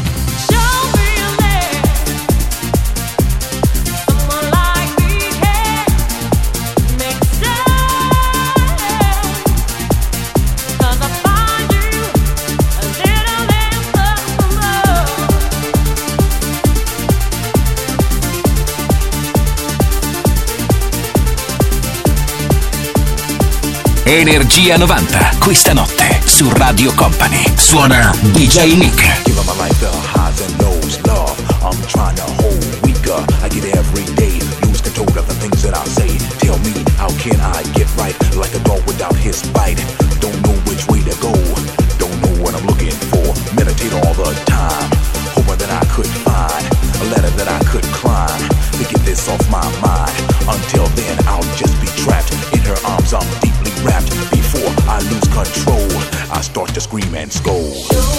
Energia novanta, questa notte su Radio Company. Suona D J Nick. Give my life the highs and lows, love. I'm trying to hold weaker. I get every day, lose control of the things that I say. Tell me, how can I get right? Like a dog without his bite. Don't know which way to go. Don't know what I'm looking for. Meditate all the time, hoping that I could find a ladder that I could climb to get this off my mind. Until then, I'll just be trapped in her arms. I'm deeply wrapped. Before I lose control, I start to scream and scold.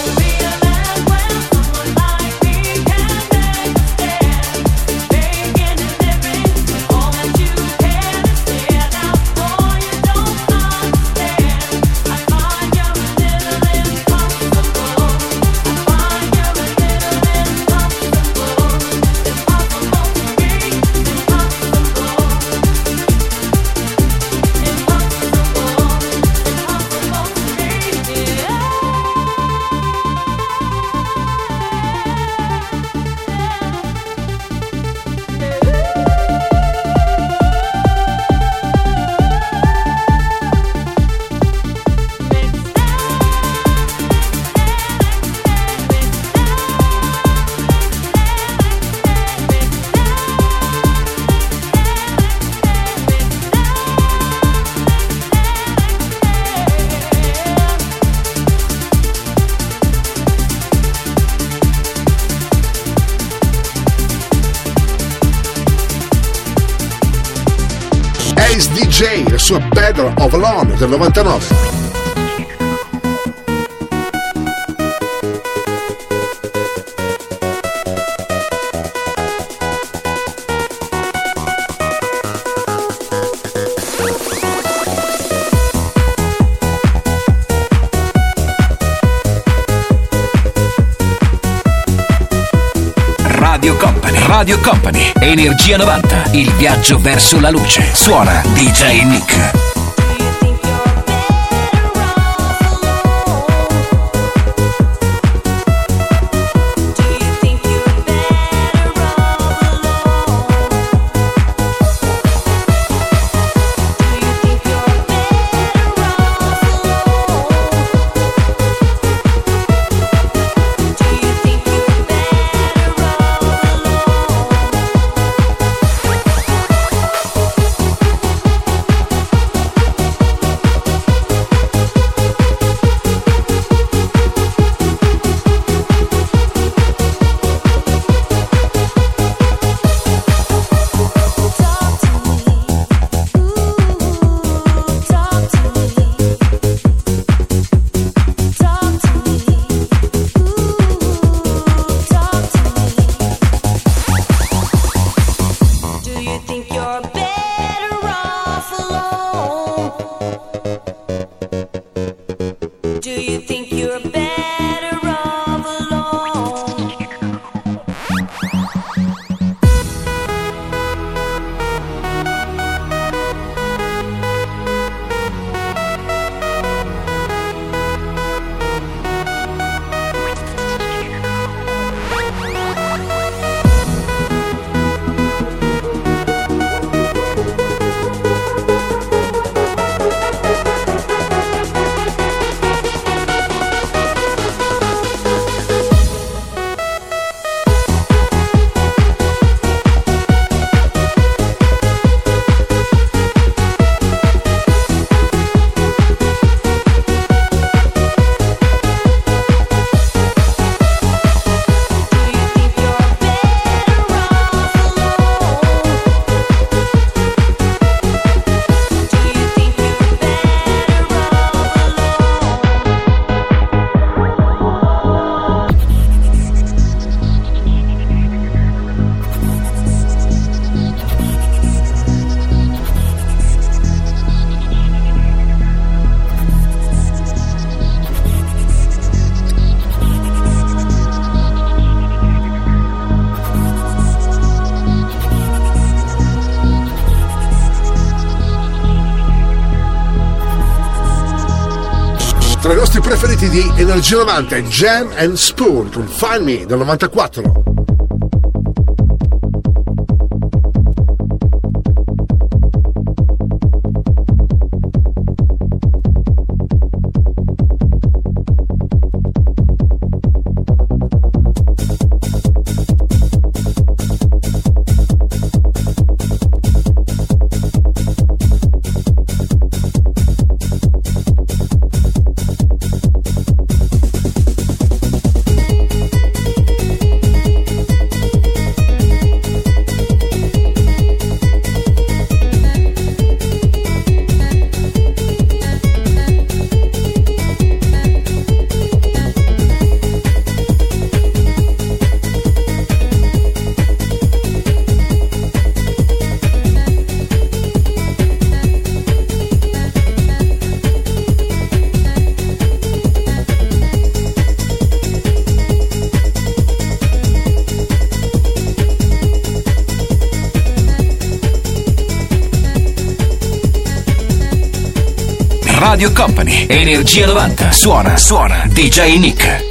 D J, la sua Better of Alone del novantanove. Radio Company, Radio Company, Energia novanta, il viaggio verso la luce. Suona D J Nick. Tra i nostri preferiti di Energia novanta è Jam and Spoon con Find Me del novantaquattro. Radio Company, Energia novanta. Suona, suona, D J Nick.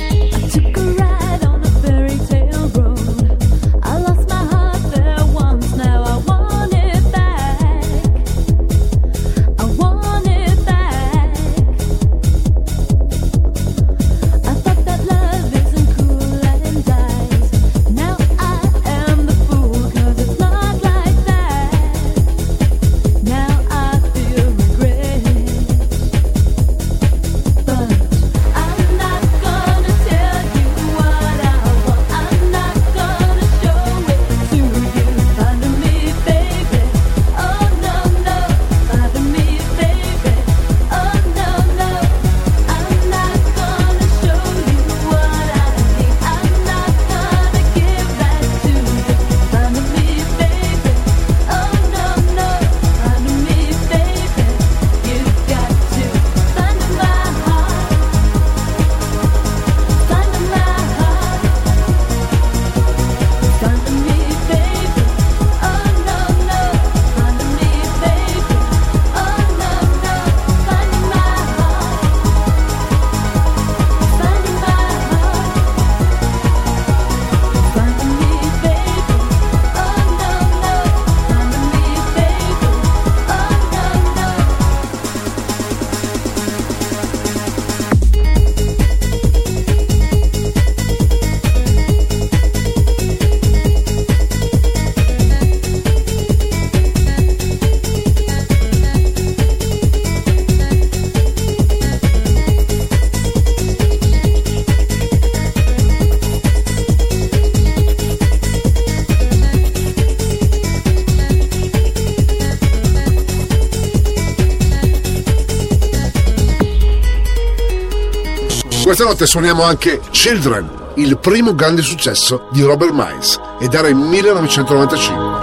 Questa notte suoniamo anche Children, il primo grande successo di Robert Miles, ed era il millenovecentonovantacinque.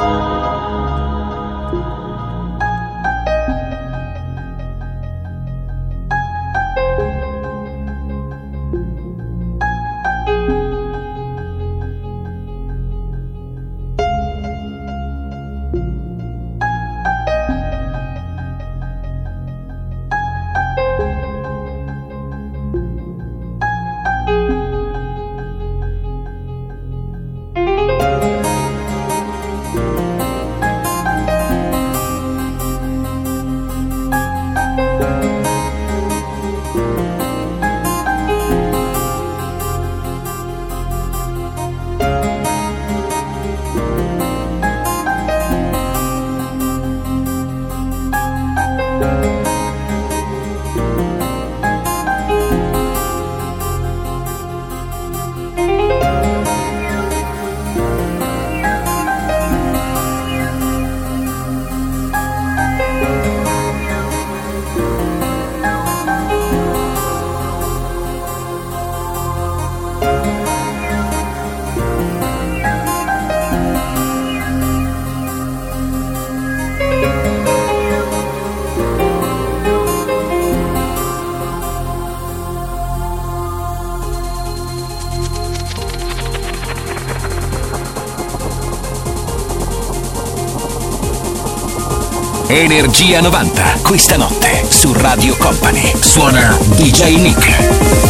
Energia novanta, questa notte su Radio Company. Suona D J Nick.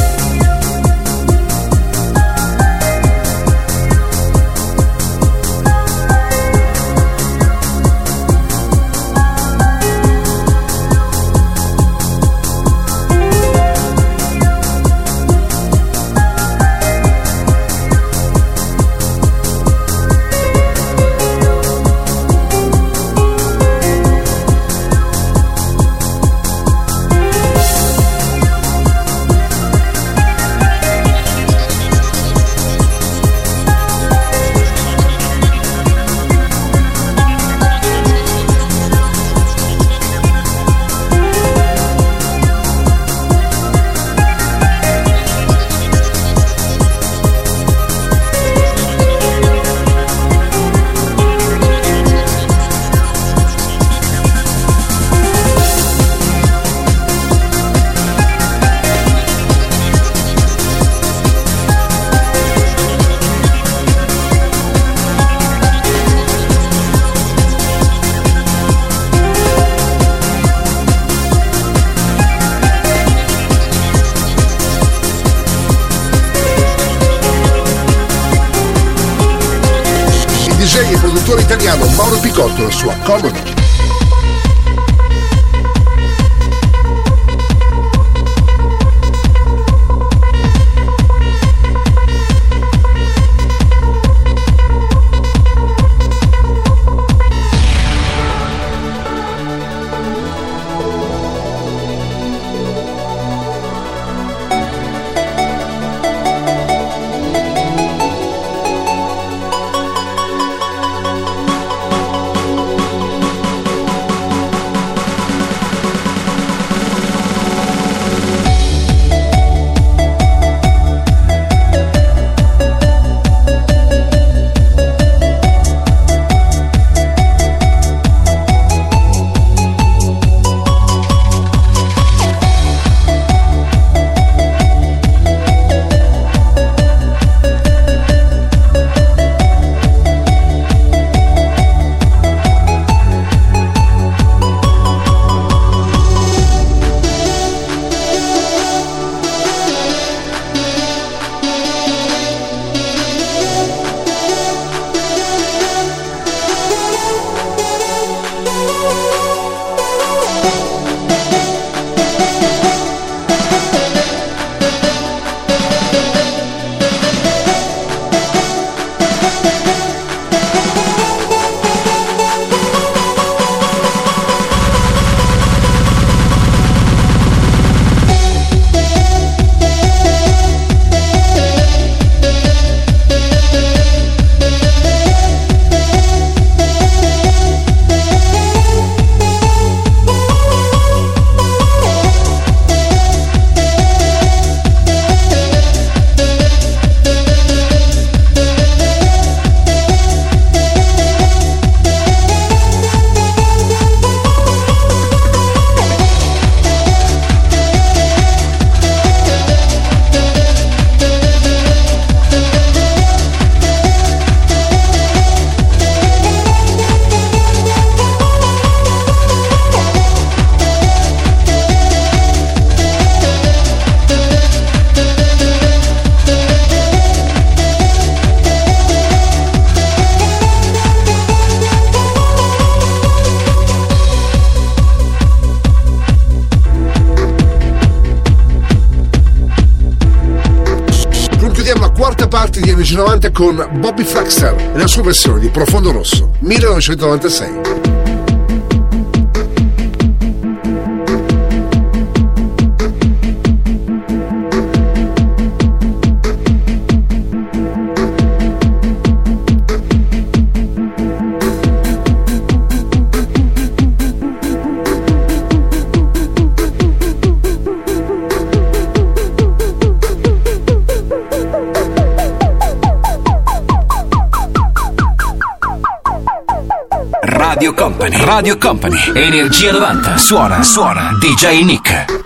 Italiano Mauro Picotto e la sua Comodo. Di Energia novanta con Bobby Flaxter e la sua versione di Profondo Rosso millenovecentonovantasei. Radio Company, Radio Company, Energia novanta, suona, suona, D J Nick.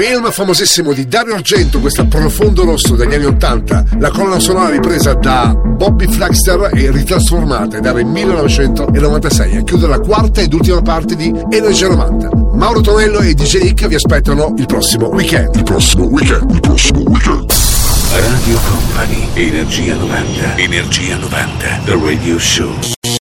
Film famosissimo di Dario Argento, questo Profondo Rosso degli anni ottanta, la colonna sonora ripresa da Bobby Flaxter e ritrasformata ed era il millenovecentonovantasei a chiudere la quarta ed ultima parte di Energia novanta. Mauro Tonello e D J Nick vi aspettano il prossimo weekend. Il prossimo weekend, il prossimo weekend. Radio Company, Energia novanta, Energia novanta, The Radio Show.